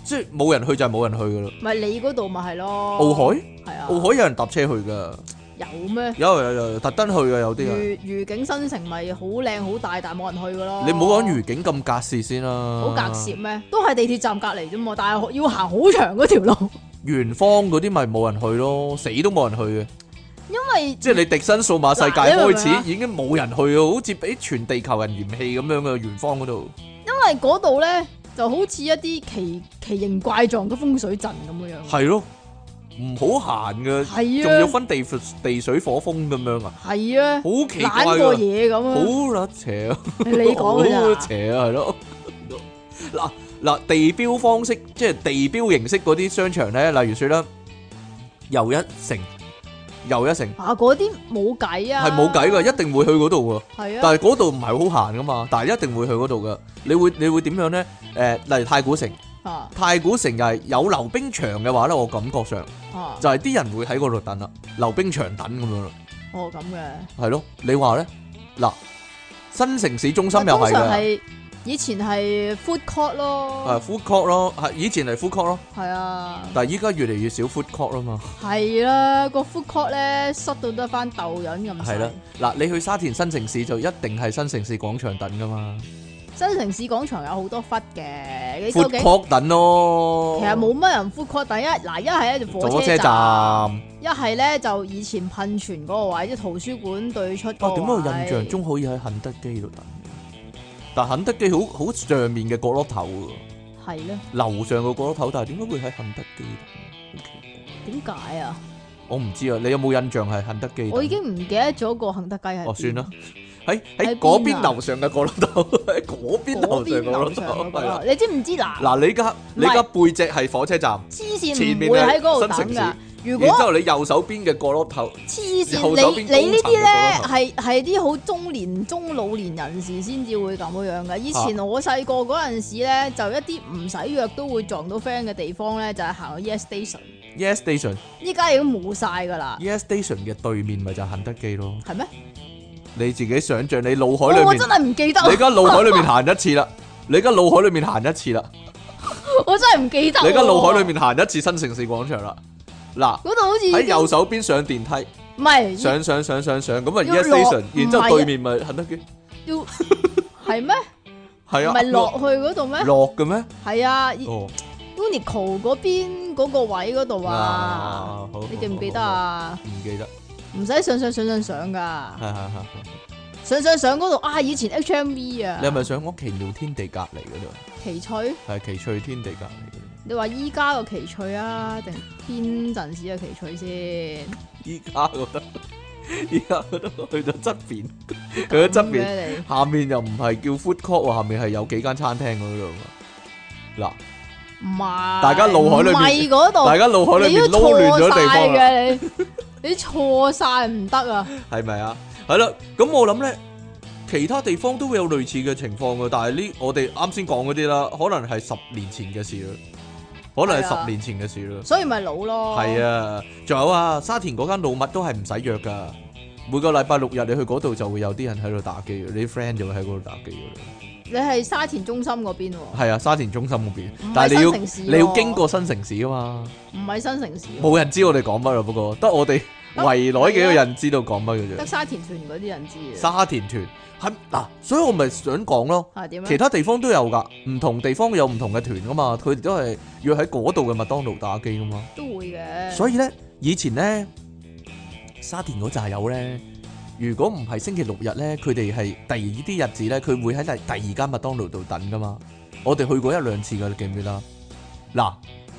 即係冇人去就係冇人去噶啦。 咪你嗰度咪係咯？ 奧海係啊， 奧海有人搭車去噶。 有咩？ 有有有特登去嘅有啲人。 愉愉景新城咪好靚好大，但係冇人去噶咯。 你唔好講愉景咁隔涉先啦。 好隔涉咩？都係地鐵站隔離啫嘛，但係要行好長嗰條路。 元芳嗰啲咪冇人去咯，死都冇人去嘅。 因為即係你迪新數碼世界開始嗱已經冇人去啊，好似俾全地球人嫌棄咁樣嘅元芳嗰度。 因為嗰度咧就好似一啲奇奇形怪狀嘅風水陣咁樣。 係咯。唔好行嘅， 係啊， 仲要分地地水火風咁樣啊， 係啊， 好奇怪懶過嘢咁啊， 好甩邪啊， 你講嘅咋？ 好邪啊，係咯。嗱嗱，地標方式即係地標形式嗰啲商場咧，例如說啦，又一城，又一城啊，嗰啲冇計啊， 係冇計噶，一定會去嗰度噶。 係啊， 但係嗰度唔係好行噶嘛，但係一定會去嗰度噶。你會你會點樣咧？誒，例如太古城。啊、太古城又係有溜冰場嘅話咧，我感覺上、啊、就係啲人會喺嗰度等啦，溜冰場等咁樣咯。 哦，咁嘅係咯，你話咧嗱，新城市中心又係嘅， 以前係 food court 咯， 係 food court 咯，係以前係 food court 咯， 係啊， 但係依家越嚟越少 food court 啦嘛。 係啦，個 food court 咧塞到得翻豆潤咁。 係啦，嗱，你去沙田新城市就一定係新城市廣場等噶嘛。 新城市廣場有好多忽嘅，你 food court 等咯。 其實冇乜人 food court等，一嗱一係咧就火車站，一係咧就以前噴泉嗰個位，即係圖書館對出嗰個位。 點解我印象中可以喺肯德基度等？但肯德基好好上面嘅角落頭喎。係咧。樓上嘅角落頭，但係點解會喺肯德基等？好奇怪。 點解啊？ 我唔知啊，你有冇印象係肯德基？ 我已經唔記得咗個肯德基係。 哦，算啦。喺喺嗰邊樓上嘅角落頭，喺嗰邊樓上嘅角落頭，係啦。 你知唔知嗱？ 嗱，你家你家背脊係火車站， 黐線唔會喺嗰度等㗎。如果然之後你右手邊嘅角落頭， 黐線，你你呢啲咧係係啲好中年中老年人士先至會咁樣㗎。以前我細個嗰陣時咧，就一啲唔使約都會撞到 friend 嘅地方咧，就係行去 Yes Station。Yes Station， 依家已經冇晒㗎啦。 Yes Station 嘅對面咪就係肯德基咯。 係咩？ 你自己想象，你腦海裏面， 我真係唔記得。 你而家腦海裏面行一次啦，你而家腦海裏面行一次啦。 我真係唔記得。 你而家腦海裏面行一次新城市廣場啦。嗱， 嗰度好似喺右手邊上電梯， 唔係上上上上上咁啊 Yes Station，然之後對面咪肯德基。 要係咩？ 係啊， 唔係落去嗰度咩？ 落嘅咩？ 係啊。 哦 Uniqlo 嗰邊嗰個位嗰度啊，你記唔記得啊？ 唔記得。 唔使上上上上上噶， 係係係， 上上上嗰度啊！以前 H M V 啊， 你係咪想講奇妙天地隔離嗰度？ 奇趣係奇趣天地隔離嗰度。 你話依家個奇趣啊，定天陣時嘅奇趣先？ 依家覺得，依家覺得去到側邊，去到側邊，下面又唔係叫 food court 喎，下面係有幾間餐廳嗰度。嗱， 唔係， 大家腦海裏面嗰度，大家腦海裏面撈亂咗地方啦。 你錯晒唔得啊，係咪啊？係啦，咁我諗咧，其他地方都會有類似嘅情況嘅，但係呢，我哋啱先講嗰啲啦，可能係十年前嘅事啦，可能係十年前嘅事啦， 所以咪老咯。係啊，仲有啊，沙田嗰間老麥都係唔使約噶，每個禮拜六日你去嗰度就會有啲人喺度打機，你啲 friend 就會喺嗰度打機噶啦。 你係沙田中心嗰邊喎？ 係啊，沙田中心嗰邊，但係你要你要經過新城市啊嘛。唔係新城市，冇人知我哋講乜啦，不過得我哋圍內幾個人知道講乜嘅啫。得沙田團嗰啲人知。沙田團係嗱，所以我咪想講咯。係點？其他地方都有噶，唔同地方有唔同嘅團噶嘛，佢哋都係約喺嗰度嘅麥當勞打機噶嘛。都會嘅。所以咧，以前咧，沙田嗰扎友咧。如果唔係星期六日咧，佢哋係第二啲日子咧，佢會喺第第二間麥當勞度等噶嘛。我哋去過一兩次噶，你記唔記得？嗱，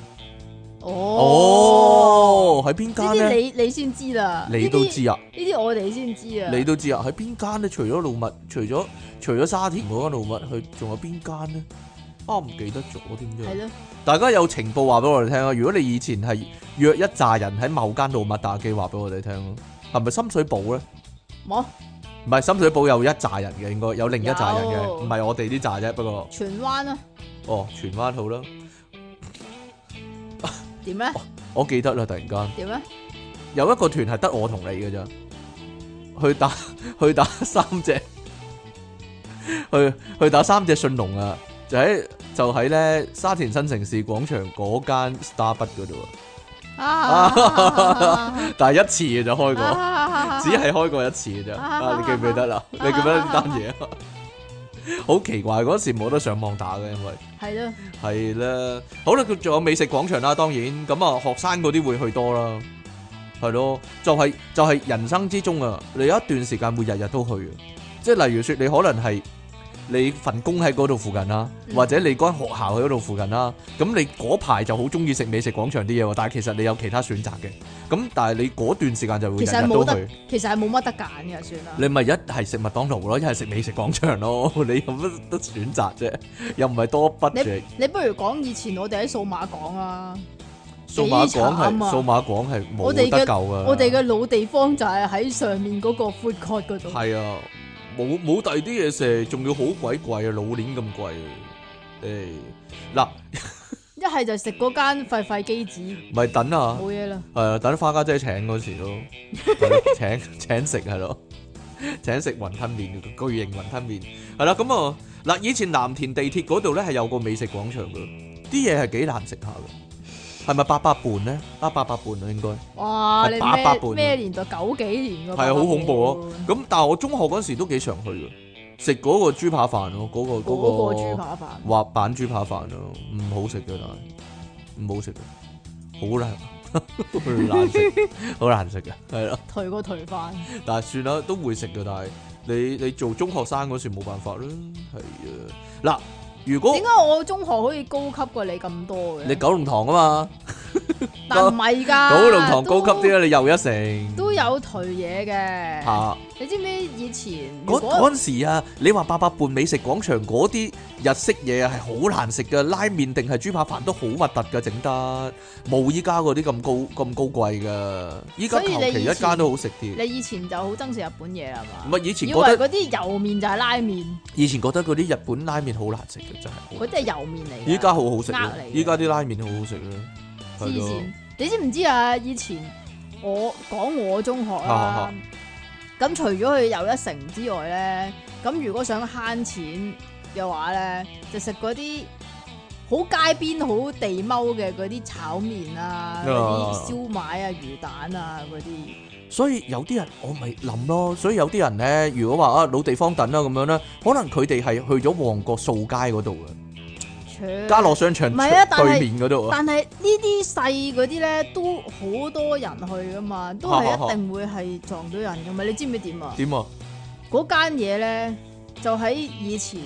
哦，喺邊間咧？呢啲你你先知啦，你都知啊？呢啲我哋先知啊？你都知啊？喺邊間咧？除咗老麥，除咗除咗沙田嗰間老麥，去仲有邊間咧？啊，唔記得咗點樣？係咯，大家有情報話俾我哋聽啊！如果你以前係約一紮人喺某間老麥打機，話俾我哋聽咯，係咪深水埗咧？冇，唔係深水埗有一紮人嘅，應該有另一紮人嘅，唔係我哋啲紮啫。不過荃灣啊，哦，荃灣好啦。點咧？我記得啦，突然間點咧？有一個團係得我同你嘅咋，去打去打三隻，去去打三隻信龍啊！ 就喺就喺咧沙田新城市廣場嗰間 Starbucks 嗰度啊， 啊但係一次嘅就開過， 啊只係開過一次嘅啫。啊，你記唔記得啦？你記唔記得呢單嘢啊？好奇怪，嗰時冇得上網打嘅，因為係咯， 係啦。好啦，佢仲有美食廣場啦，當然咁啊，學生嗰啲會去多啦，係咯，就係就係人生之中啊，你有一段時間會日日都去嘅，即係例如說你可能係。你份工喺嗰度附近啦，或者你間學校喺嗰度附近啦，咁你嗰排就好中意食美食廣場啲嘢喎，但係其實你有其他選擇嘅，咁但係你嗰段時間就會日日都去。 其實係冇乜得揀嘅，算啦。 你咪一係食麥當勞咯，一係食美食廣場咯，你有乜得選擇啫？又唔係多筆嘅。 你不如講以前我哋喺數碼港啊， 數碼港係數碼港係冇得救噶。 我哋嘅老地方就係喺上面嗰個 food court 嗰度。 係啊。冇冇第二啲嘢食，仲要好鬼貴啊！老年咁貴，誒嗱， 一係就食嗰間廢廢機子， 咪等啊， 冇嘢啦， 係啊，等花家姐請嗰時咯，請請食係咯，請食雲吞麵，巨型雲吞麵係啦，咁啊嗱，以前藍田地鐵嗰度咧係有個美食廣場噶，啲嘢係幾難食下噶。係咪八佰伴咧？啊，八佰伴啊，應該。 哇！你八佰伴咩年代？九幾年噶？ 係啊，好恐怖咯！咁但係我中學嗰時都幾常去嘅，食嗰個豬扒飯咯，嗰個嗰個。 嗰個豬扒飯。 滑板豬扒飯咯，唔好食嘅，但係唔好食嘅，好難，好難食，好難食嘅，係咯。 頹過頹飯。但係算啦，都會食嘅，但係你你做中學生嗰時冇辦法啦，係啊。嗱。如果點解我中學可以高級過你咁多嘅？ 你九龍塘啊嘛， 但唔係㗎， 九龍塘高級啲啊，你又一城都有頹嘢嘅。嚇、啊！你知唔知以前嗰嗰陣時啊？你話八佰伴美食廣場嗰啲日式嘢啊，係好難食㗎，拉麵定係豬扒飯都好核突㗎，整得冇依家嗰啲咁高咁高貴㗎。依家求其一間都好食啲。 你以前就好憎食日本嘢係嘛？ 唔係以前覺得嗰啲油麵就係拉麵。以前覺得嗰啲日本拉麵好難食嘅，真係。 嗰啲係油麵嚟。 依家好好食啦，依家啲拉麵好好食啦。 黐線！你知唔知啊？以前我講我中學啦，咁除咗去又一城之外咧，咁如果想慳錢嘅話咧，就食嗰啲好街邊好地踎嘅嗰啲炒麵啊，嗰啲燒賣啊、魚蛋啊嗰啲。 所以有啲人我咪諗咯，所以有啲人咧，如果話啊老地方等啦咁樣咧，可能佢哋係去咗旺角掃街嗰度嘅。家樂商場對面嗰度， 但係呢啲細嗰啲咧都好多人去噶嘛，都係一定會係撞到人噶嘛。你知唔知點啊？點啊？嗰間嘢咧就喺以前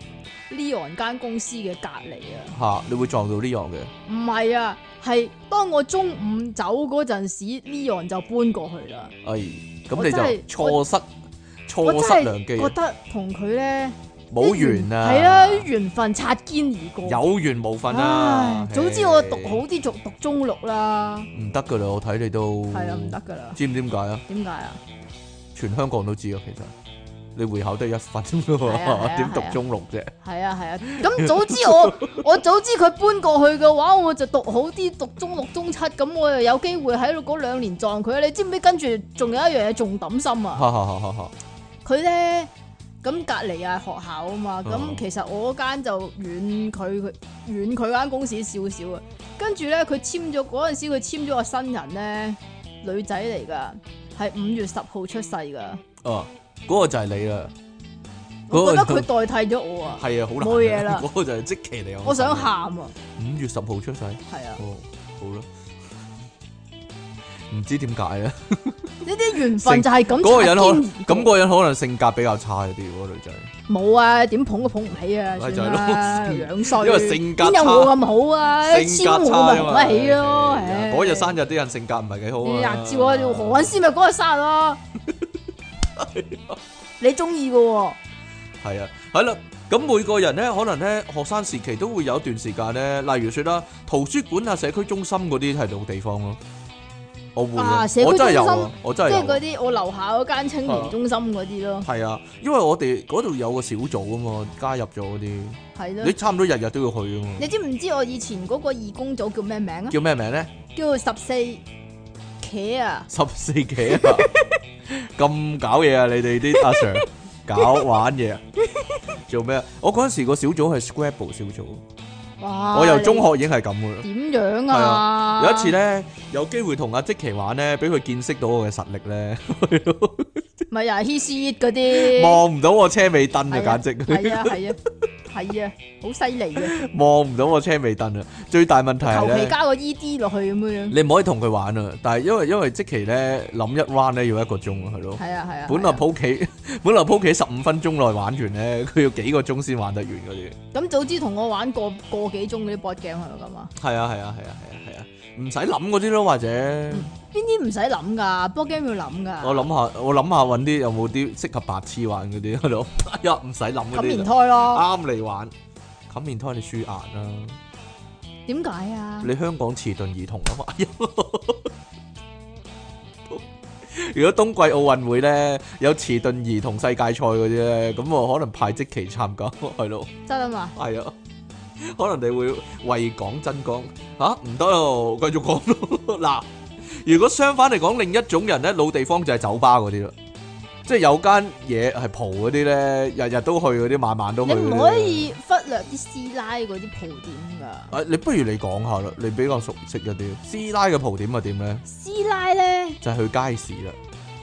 Leon 間公司嘅隔離啊。 嚇！你會撞到 Leon 嘅？ 唔係啊，係當我中午走嗰陣時 ，Leon 就搬過去啦。 哎，咁你就錯失錯失良機。 覺得同佢咧。 冇緣啊！ 係啊，緣分擦肩而過。 有緣無份啊！ 早知我讀好啲，讀讀中六啦。 唔得噶啦，我睇你都係啊，唔得噶啦。 知唔知點解啊？ 點解啊？ 全香港都知啊，其實你會考得一分噶喎，點讀中六啫？ 係啊係啊，咁早知我我早知佢搬過去嘅話，我就讀好啲，讀中六中七，咁我又有機會喺度嗰兩年撞佢。你知唔知跟住仲有一樣嘢仲抌心啊？佢咧。咁隔離啊學校啊嘛，咁、哦、其實我嗰間就遠佢佢遠佢間公司少少啊。跟住咧，佢簽咗嗰陣時，佢簽咗個新人咧，女仔嚟噶，係五月十號出世噶。哦， 嗰、嗰個就係你啦。 我覺得佢代替咗我啊。 係啊，好難。 冇嘢啦。 嗰個就係積淇嚟。 我想喊啊！ 五月十號出世。 係啊。 哦，好啦。唔知點解咧？ 呢啲緣分就係咁。 嗰個人可咁嗰個人可能性格比較差啲，嗰個女仔。冇啊，點捧都捧唔起啊！ 咪就係咯， 樣衰。 因為性格差。 邊有我咁好啊？ 性格差咪捧得起咯。 嗰日生日啲人性格唔係幾好啊。 日照啊，何韻詩咪嗰日生日咯。你中意嘅喎。係啊，係啦。咁每個人咧，可能咧學生時期都會有一段時間咧，例如說啦，圖書館啊、社區中心嗰啲係度地方咯。我會啊，我真係有啊，我真係有。 即係嗰啲我樓下嗰間青年中心嗰啲咯。 係啊，因為我哋嗰度有個小組啊嘛，加入咗嗰啲。係咯。你差唔多日日都要去啊嘛。 你知唔知我以前嗰個義工組叫咩名啊？ 叫咩名咧？ 叫十四茄啊！ 十四茄啊！咁搞嘢啊！你哋啲阿 Sir 搞玩嘢啊！ 做咩啊？我嗰陣時個小組係 Scrabble 小組。 哇！ 我由中學已經係咁噶啦。 點樣啊？ 有一次咧，有機會同阿積淇玩咧，俾佢見識到我嘅實力咧。 咪又係 hit shit 嗰啲， 望唔到我車尾燈啊，簡直係啊係啊係啊，好犀利啊！ 望唔到我車尾燈啊！最大問題係咧， 求其加個 E D 落去咁樣。 你唔可以同佢玩啊！但係因為因為積淇咧諗一 round 咧要一個鐘啊，係咯。 係啊係啊。 本來鋪棋本來鋪棋十五分鐘內玩完咧，佢要幾個鐘先玩得完嗰啲。 咁早知同我玩個個幾鐘嗰啲 board game 係咪咁啊？ 係啊係啊係啊係啊係啊，唔使諗嗰啲咯，或者。 邊啲唔使諗噶，board game 要諗噶。 我諗下，我諗下揾啲有冇啲適合白痴玩嗰啲喺度，一唔使諗嗰啲。 冚棉胎咯， 啱你玩。冚棉胎你輸硬啦。 點解啊？ 你香港遲鈍兒童啊嘛。如果冬季奧運會咧有遲鈍兒童世界賽嗰啲咧，咁我可能派積淇參加，係咯。 真啊嘛？ 係啊。可能你會為港爭光吓，唔得咯，繼續講咯。嗱，如果相反嚟講，另一種人咧，老地方就係酒吧嗰啲啦，即係有間嘢係蒲嗰啲咧，日日都去嗰啲，晚晚都去。你唔可以忽略啲師奶嗰啲蒲點噶。 啊，你不如你講下啦，你比較熟悉一啲師奶嘅蒲點係點咧？ 師奶咧就係去街市啦，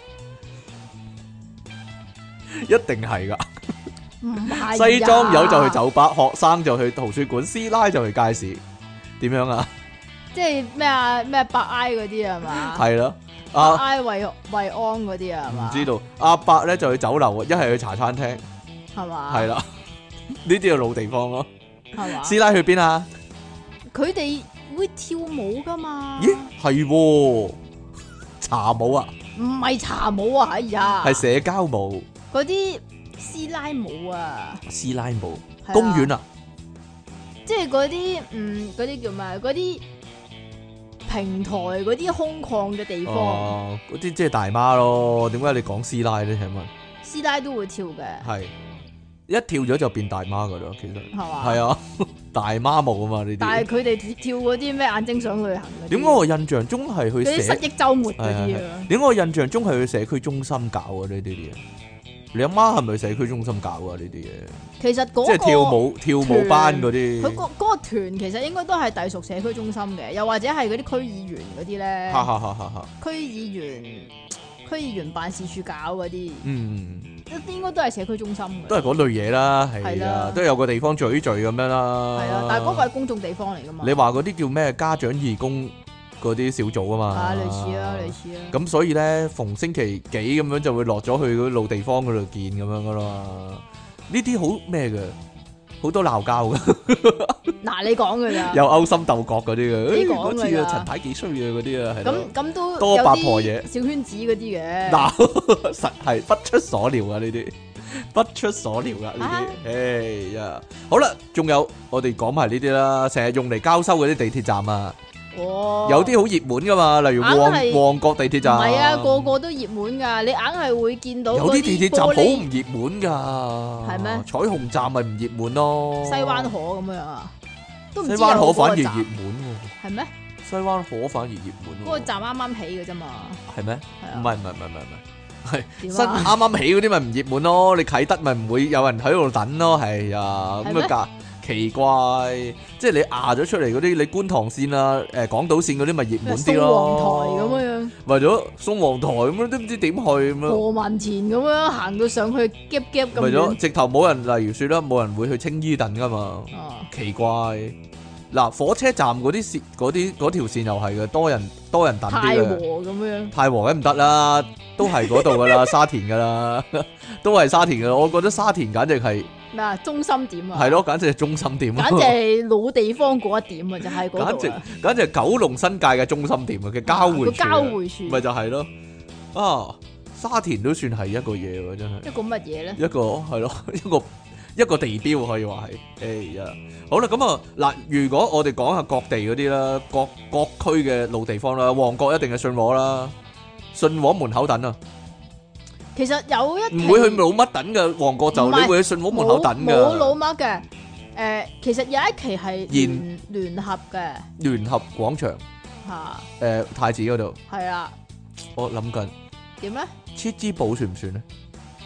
一定係噶。 唔係， 西裝友就去酒吧，學生就去圖書館，師奶就去街市，點樣啊？ 即係咩啊？咩百哀嗰啲係嘛？ 係咯， 百哀慰慰安嗰啲啊？ 唔知道。阿伯咧就去酒樓，一係去茶餐廳， 係嘛？ 係啦，呢啲係老地方咯。 係嘛？ 師奶去邊啊？ 佢哋會跳舞噶嘛？ 咦，係茶舞啊？ 唔係茶舞啊，哎呀， 係社交舞。 嗰啲。師奶舞啊！ 師奶舞，啊、公園啊， 即係嗰啲嗯嗰啲叫咩？嗰啲平台嗰啲空曠嘅地方， 哦，嗰啲即係大媽咯。點解你講師奶咧？請問師奶都會跳嘅，係一跳咗就變大媽噶啦，其實係嘛？ 係啊，大媽舞啊嘛呢啲。 但係佢哋跳嗰啲咩眼睛想旅行嗰啲， 點解我印象中係去嗰啲失憶週末嗰啲啊？ 點解我印象中係去社區中心搞啊？呢啲嘢。你阿媽係咪社區中心搞啊？呢啲嘢其實嗰、嗰個、 即係跳舞跳舞班嗰啲， 佢嗰嗰個團其實應該都係隸屬社區中心嘅，又或者係嗰啲區議員嗰啲咧。 哈哈哈！哈區議員區議員辦事處搞嗰啲， 嗯， 應該都係社區中心嘅， 都係嗰類嘢啦，係啊，都有個地方聚一聚咁樣啦。 係啊，但係嗰個係公眾地方嚟噶嘛。 你話嗰啲叫咩家長義工？嗰啲小組啊嘛， 啊類似啊類似啊， 咁所以咧逢星期幾咁樣就會落咗去嗰老地方嗰度見咁樣噶啦，呢啲好咩嘅，好多鬧交噶。 嗱你講噶咋？ 有勾心鬥角嗰啲嘅， 你講嗰次啊陳太幾衰嘅嗰啲啊，係咁咁都多八婆嘢， 小圈子嗰啲嘅。 嗱實係不出所料啊呢啲，不出所料噶呢啲，哎呀，好啦，仲有我哋講埋呢啲啦，成日用嚟交收嗰啲地鐵站啊。 哦， 有啲好熱門噶嘛，例如旺旺角地鐵站， 唔係啊，個個都熱門噶，你硬係會見到。 有啲地鐵站好唔熱門噶， 係咩？ 彩虹站咪唔熱門咯。西灣河咁樣啊，都唔知西灣河反而熱門喎。 係咩？ 西灣河反而熱門。 嗰個站啱啱起嘅啫嘛。係咩？ 係啊。 唔係唔係唔係唔係，係新啱啱起嗰啲咪唔熱門咯。你啟德咪唔會有人喺度等咯，係啊，咁啊隔。奇怪，即係你壓咗出嚟嗰啲，你觀塘線啊、誒港島線嗰啲咪熱門啲咯。 宋皇台咁樣， 為咗宋皇台咁樣都唔知點去咁樣。何文田咁樣行到上去夾夾咁樣。 為咗直頭冇人，例如説啦，冇人會去青衣等噶嘛。啊、奇怪，嗱火車站嗰啲線，嗰啲嗰條線又係嘅，多人多人等啲嘅。太和咁樣。太和梗唔得啦，都係嗰度噶啦，沙田噶啦，都係沙田噶啦。我覺得沙田簡直係。咩啊？中心點啊？係咯，簡直係中心點啊！簡直係老地方嗰一點啊，就係嗰度啊！簡直簡直係九龍新界嘅中心點啊，嘅交匯處。交匯處咪就係咯。啊，沙田都算係一個嘢喎，真係。一個乜嘢咧？一個係咯，一個一個地標可以話係。哎呀，好啦，咁啊嗱，如果我哋講下各地嗰啲啦，各各區嘅老地方啦，旺角一定係信和啦，信和門口等啊。其實有一唔會去老乜等嘅旺角就，你會去信和門口等嘅。冇老乜嘅，誒，其實有一期係聯聯合嘅。聯合廣場吓，誒，太子嗰度係啊。我諗緊點咧？切之寶算唔算咧？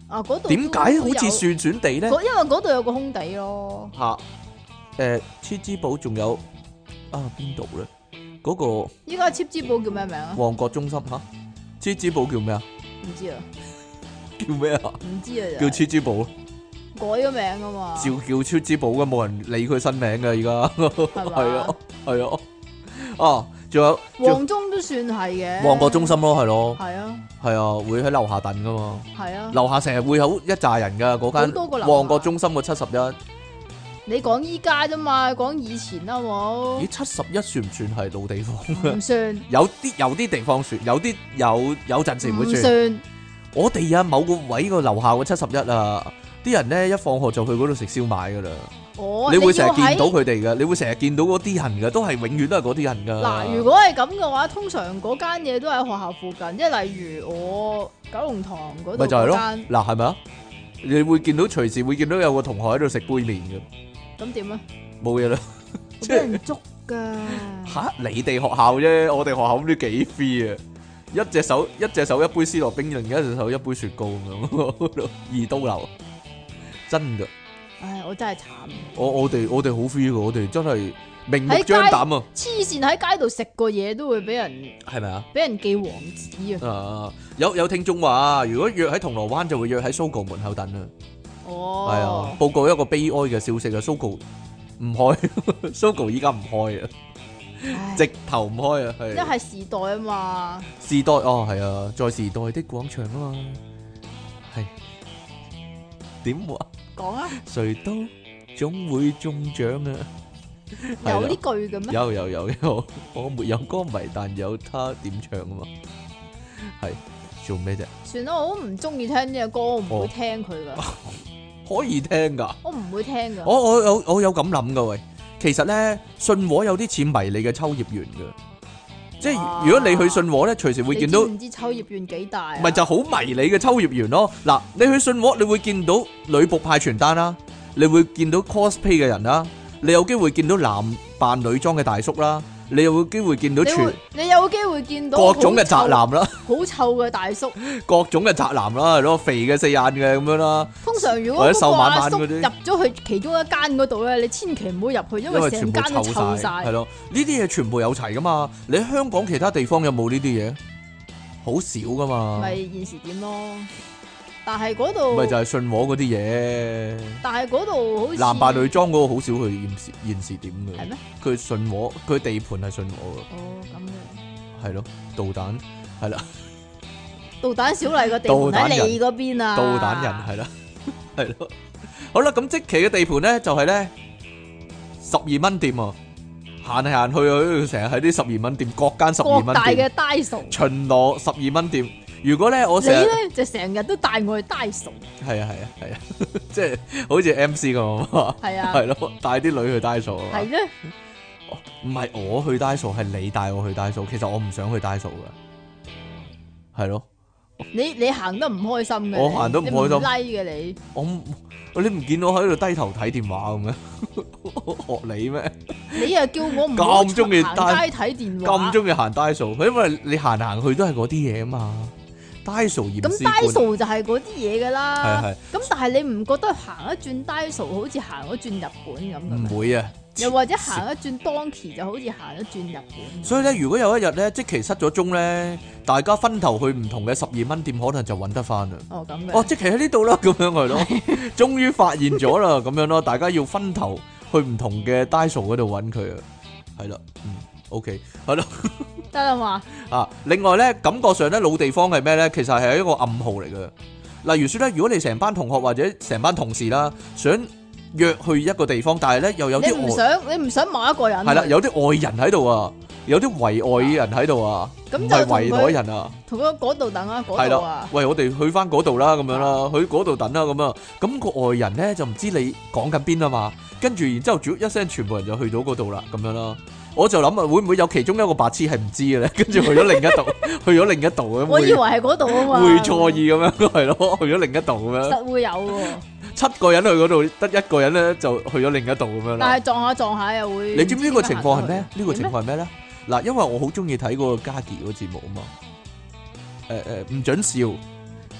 啊，嗰度點解好似酸酸地咧？ 因為嗰度有個空地咯。 吓，誒，黐之寶仲有啊邊度咧？嗰個依家黐之寶叫咩名啊？ 旺角中心吓，黐之寶叫咩啊？ 唔知啊。 叫咩啊？ 唔知啊。 叫黐之寶。 改咗名啊嘛。 照叫黐之寶嘅，冇人理佢新名嘅而家。係啊，係啊。啊，仲有旺中都算係嘅。 旺角中心咯，係咯。 係啊。 係啊，會喺樓下等噶嘛。 係啊。 樓下成日會有一紮人噶，嗰間旺角中心嘅七十一。 你講依家啫嘛，講以前啦，好冇？ 咦，七十一算唔算係老地方？ 唔算。 有啲有啲地方算，有啲有有陣時會算。 唔算。 我哋啊，某個位個樓下嘅七十一啊，啲人咧一放學就去嗰度食燒賣噶啦。 哦， 你會成日見到佢哋噶，你會成日見到嗰啲人噶，都係永遠都係嗰啲人噶。 嗱，如果係咁嘅話，通常嗰間嘢都喺學校附近，即係例如我九龍塘嗰度咪就係咯。 間。 嗱，係咪啊？你會見到隨時會見到有個同學喺度食杯麵嘅。 咁點啊？ 冇嘢啦， 俾人捉噶。 吓，你哋學校啫，我哋學校唔知幾 free 啊！一隻手一隻手一杯思樂冰，另一隻手一杯雪糕咁樣，二刀流，真噶。 唉，我真係慘。 我我哋我哋好 free 噶，我哋真係明目張膽啊！ 黐線喺街度食個嘢都會俾人係咪啊？ 俾人記黃紙啊！ 啊，有有聽眾話，如果約喺銅鑼灣就會約喺 Sogo 門口等啊。 哦， 係啊，報告一個悲哀嘅消息啊 ，Sogo 唔開 ，Sogo 依家唔開啊，直頭唔開啊，係。 因為係時代啊嘛。 時代哦，係啊，在時代的廣場啊嘛，係點話？ 講啊！ 誰都總會中獎啊！ 有呢句嘅咩？ 有有有有，我沒有歌迷，但有他點唱啊嘛，係做咩啫？ 算啦，我都唔中意聽呢個歌，我唔會聽佢噶。 可以聽噶， 我唔會聽噶。 我我有我有咁諗噶喂，其實咧信和有啲似迷你嘅秋葉原噶，即係如果你去信和咧，隨時會見到。 唔知秋葉原幾大啊？ 咪就好迷你嘅秋葉原咯。嗱，你去信和，你會見到女僕派傳單啦，你會見到 cosplay 嘅人啦，你有機會見到男扮女裝嘅大叔啦。你有冇機會見到全？ 你有機會見到各種嘅宅男啦， 好臭嘅大叔， 各種嘅宅男啦，係咯，肥嘅四眼嘅咁樣啦。 通常如果嗰個阿叔入咗去其中一間嗰度咧，你千祈唔好入去，因為成間都臭晒。 係咯，呢啲嘢全部有齊噶嘛。你喺香港其他地方有冇呢啲嘢？好少噶嘛。 咪現時點咯？但係嗰度咪就係信和嗰啲嘢，但係嗰度好似男扮女裝嗰個好少去現時現時點嘅。 係咩？ 佢信和，佢地盤係信和嘅。 哦，咁嘅。 係咯，導彈係啦。 導彈小麗個地盤喺你嗰邊啊？ 導彈人係啦，係咯。好啦，咁積淇嘅地盤咧就係咧十二蚊店啊，行嚟行去啊，成日喺啲十二蚊店，各間十二蚊店。各大嘅 Daiso 巡邏十二蚊店。如果咧我成日你咧就成日都帶我去 Daiso。 係啊係啊係啊，即係好似 M C 咁啊。係啊，係咯，帶啲女去 Daiso 啊。 係咧， 唔係我去 Daiso，係你帶我去 Daiso。其實我唔想去 Daiso 噶，係咯。 你你行得唔開心嘅， 我行得唔開心。 拉嘅你， 我你唔見我喺度低頭睇電話咁咩？學你咩？ 你又叫我唔咁中意行街睇電話， 咁中意行 Daiso，因為你行行去都係嗰啲嘢啊嘛。Daiso 嚴咁 Daiso 就係嗰啲嘢噶啦。係係。咁但係你唔覺得行一轉 Daiso 好似行一轉日本咁？ 唔會啊。 又或者行一轉 Donkey 就好似行一轉日本。 所以咧，如果有一日咧，積淇失咗蹤咧，大家分頭去唔同嘅十二蚊店，可能就揾得翻啦。 哦，咁嘅。 哦，積淇喺呢度啦，咁樣係咯，終於發現咗啦，咁樣咯，大家要分頭去唔同嘅 Daiso 嗰度揾佢啊，係啦，嗯 ，OK，係咯， 得啦嘛。啊， 另外咧，感覺上咧老地方係咩咧？其實係一個暗號嚟嘅。例如說咧，如果你成班同學或者成班同事啦，想約去一個地方，但係咧又有啲你唔想你唔想某一個人係啦，有啲外人喺度啊，有啲圍外嘅人喺度啊，唔係圍內人啊， 同佢嗰度等啊，嗰度啊， 喂，我哋去翻嗰度啦，咁樣啦，去嗰度等啦，咁啊，咁個外人咧就唔知你講緊邊啊嘛，跟住然之後一聲，全部人就去到嗰度啦，咁樣啦，我就諗啊，會唔會有其中一個白痴係唔知嘅咧？跟住去咗另一度，去咗另一度咁， 我以為係嗰度啊嘛， 會錯意咁樣，係咯，去咗另一度咁樣， 實會有喎。 七個人去嗰度，得一個人咧就去咗另一度咁樣啦。但係撞下撞下又會。 你知唔知呢個情況係咩？呢個情況係咩咧？嗱，因為我好中意睇嗰個嘉琪嗰個節目啊嘛。誒誒，唔准笑，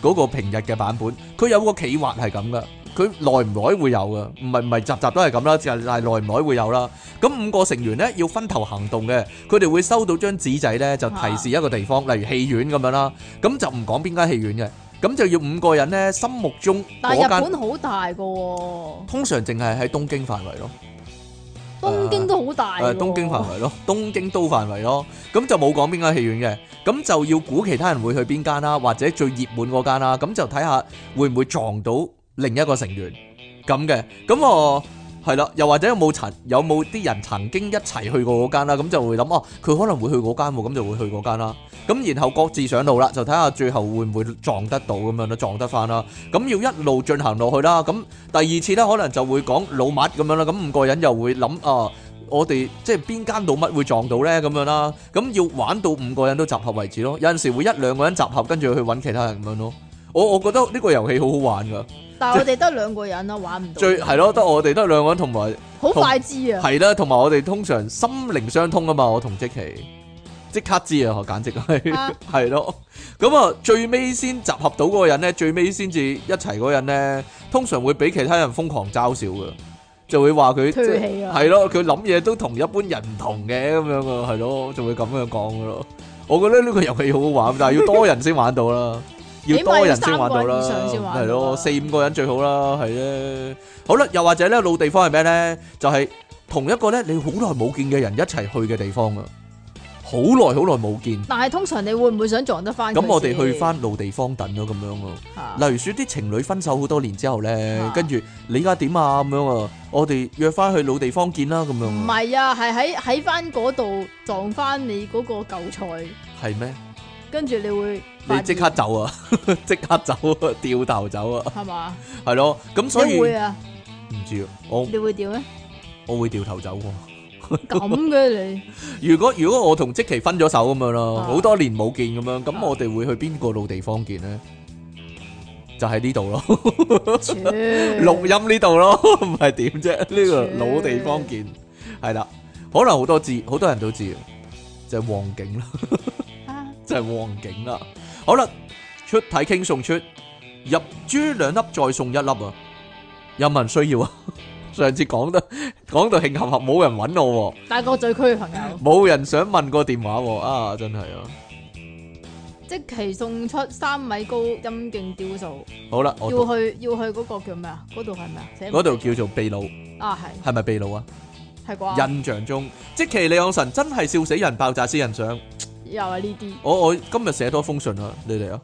嗰個平日嘅版本，佢有個企劃係咁噶，佢耐唔耐會有噶，唔係唔係集集都係咁啦，就係耐唔耐會有啦。咁五個成員咧要分頭行動嘅，佢哋會收到張紙仔咧，就提示一個地方，例如戲院咁樣啦，咁就唔講邊間戲院嘅。咁就要五個人咧，心目中但係日本好大噶喎， 通常淨係喺東京範圍咯。 東京都好大喎。 誒，東京範圍咯，東京都範圍咯。咁就冇講邊間戲院嘅，咁就要估其他人會去邊間啦，或者最熱門嗰間啦。咁就睇下會唔會撞到另一個成員咁嘅。咁我係啦，又或者有冇曾有冇啲人曾經一齊去過嗰間啦？咁就會諗哦，佢可能會去嗰間喎，咁就會去嗰間啦。咁然後各自上路啦，就睇下最後會唔會撞得到咁樣咯，撞得翻啦。咁要一路進行落去啦。咁第二次咧，可能就會講老麥咁樣啦。咁五個人又會諗啊，我哋即係邊間老麥會撞到咧咁樣啦。咁要玩到五個人都集合為止咯。有陣時會一兩個人集合，跟住去揾其他人咁樣咯。我我覺得呢個遊戲好好玩噶。 但係我哋得兩個人啦，玩唔到。 最係咯，得我哋得兩個人同埋好快知啊。 係啦，同埋我哋通常心靈相通啊嘛，我同積淇。即刻知啊！簡直係係咯，咁啊最尾先集合到嗰個人咧，最尾先至一齊嗰個人咧，通常會俾其他人瘋狂嘲笑嘅，就會話佢係咯，佢諗嘢都同一般人唔同嘅咁樣啊，係咯，就會咁樣講噶咯。我覺得呢個遊戲好好玩，但係要多人先玩到啦，要多人先玩到啦，係咯，四五個人最好啦，係咧。好啦，又或者咧，老地方係咩咧？就係同一個咧你好耐冇見嘅人一齊去嘅地方啊！好耐好耐冇見， 但係通常你會唔會想撞得翻佢？ 咁我哋去翻老地方等咯，咁樣咯。例如說啲情侶分手好多年之後咧，跟住你而家點啊咁樣啊，我哋約翻去老地方見啦咁樣。 唔係啊，係喺喺翻嗰度撞翻你嗰個舊菜。係咩？ 跟住你會你即刻走啊！即刻走啊！掉頭走啊！ 係嘛？ 係咯，咁所以你會啊？ 唔知啊，我你會掉咩？ 我會掉頭走喎。 咁嘅你？ 如果如果我同積淇分咗手咁樣咯，好多年冇見咁樣，咁我哋會去邊個老地方見咧？就喺呢度咯，錄音呢度咯，唔係點啫？呢個老地方見係啦，可能好多知，好多人都知，就係旺景啦，就係旺景啦。好啦，出體傾送出入珠兩粒再送一粒啊！有冇人需要啊？上次講得講到慶合合，冇人揾我， 大角咀區嘅朋友， 冇人想問個電話啊！真係啊！ 即期送出三米高陰莖雕塑， 好啦， 要去要去嗰個叫咩啊？嗰度係咩啊？ 嗰度叫做秘魯啊，係係咪秘魯啊？ 係啩？ 印象中，積淇離岸神真係笑死人，爆炸私人相， 又係呢啲。 我我今日寫多封信啊，你哋啊！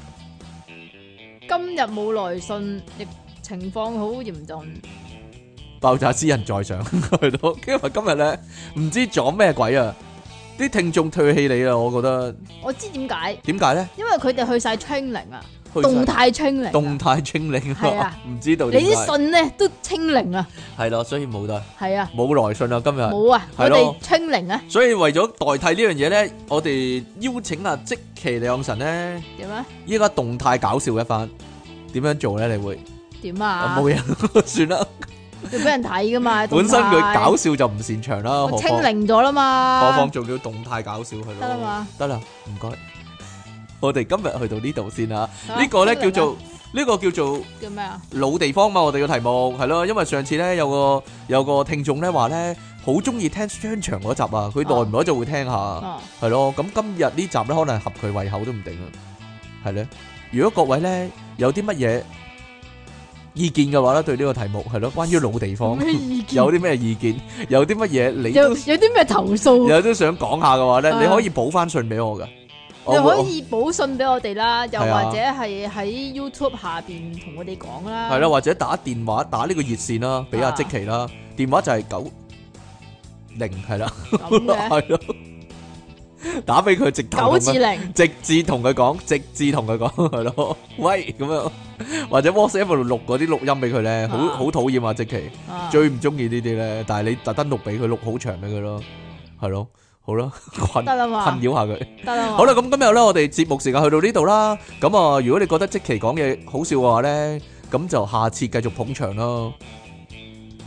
今日冇來信，亦情況好嚴重。 爆炸私人在上，係咯，因為今日咧唔知撞咩鬼啊！啲聽眾唾棄你啊，我覺得。我知點解？點解咧？因為佢哋去晒清零啊，動態清零。動態清零係啊，唔知道。你啲信咧都清零啊。係咯，所以冇得。係啊。冇來信啊，今日。冇啊，我哋清零啊。所以為咗代替呢樣嘢咧，我哋邀請阿積淇離岸神咧。點啊？依家動態搞笑一番，點樣做咧？你會點啊？冇嘢，算啦。要俾人睇噶嘛？本身佢搞笑就唔擅長啦，我清零咗啦嘛。何況仲要動態搞笑係咯？得啦嘛，得啦，唔該。我哋今日去到呢度先啦。呢個咧叫做呢個叫做叫咩啊？老地方嘛，我哋嘅題目係咯。因為上次咧有個有個聽眾咧話咧好中意聽商場嗰集啊，佢耐唔耐就會聽下，係咯。咁今日呢集咧可能合佢胃口都唔定啊，係咧。如果各位咧有啲乜嘢意見嘅話咧，對呢個題目係咯，關於老地方有啲咩意見，有啲乜嘢你有有啲咩投訴，有都想講下嘅話咧，你可以補翻信俾我噶，你可以補信俾我哋啦，又或者係喺 YouTube 下邊同我哋講啦，係啦，或者打電話打呢個熱線啦，俾阿積淇啦，電話就係九零係啦，係咯。打俾佢直頭，九至零，直至同佢講，直至同佢講係咯，喂咁樣，或者 WhatsApp 度錄嗰啲錄音俾佢咧，好好討厭啊！積淇最唔中意呢啲咧，但係你特登錄俾佢，錄好長俾佢咯，係咯，好啦，困得啦嘛，困擾下佢，得啦。好啦，咁今日咧，我哋節目時間去到呢度啦。咁啊，如果你覺得積淇講嘢好笑嘅話咧，咁就下次繼續捧場咯。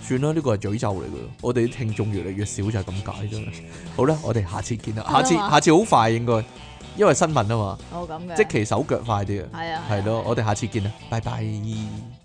算啦，呢個係詛咒嚟嘅。我哋啲聽眾越嚟越少就係咁解啫。好啦，我哋下次見啦。下次下次好快應該，因為新聞啊嘛。 哦咁嘅。 即其手腳快啲啊。 係啊。 係咯，我哋下次見啦，拜拜。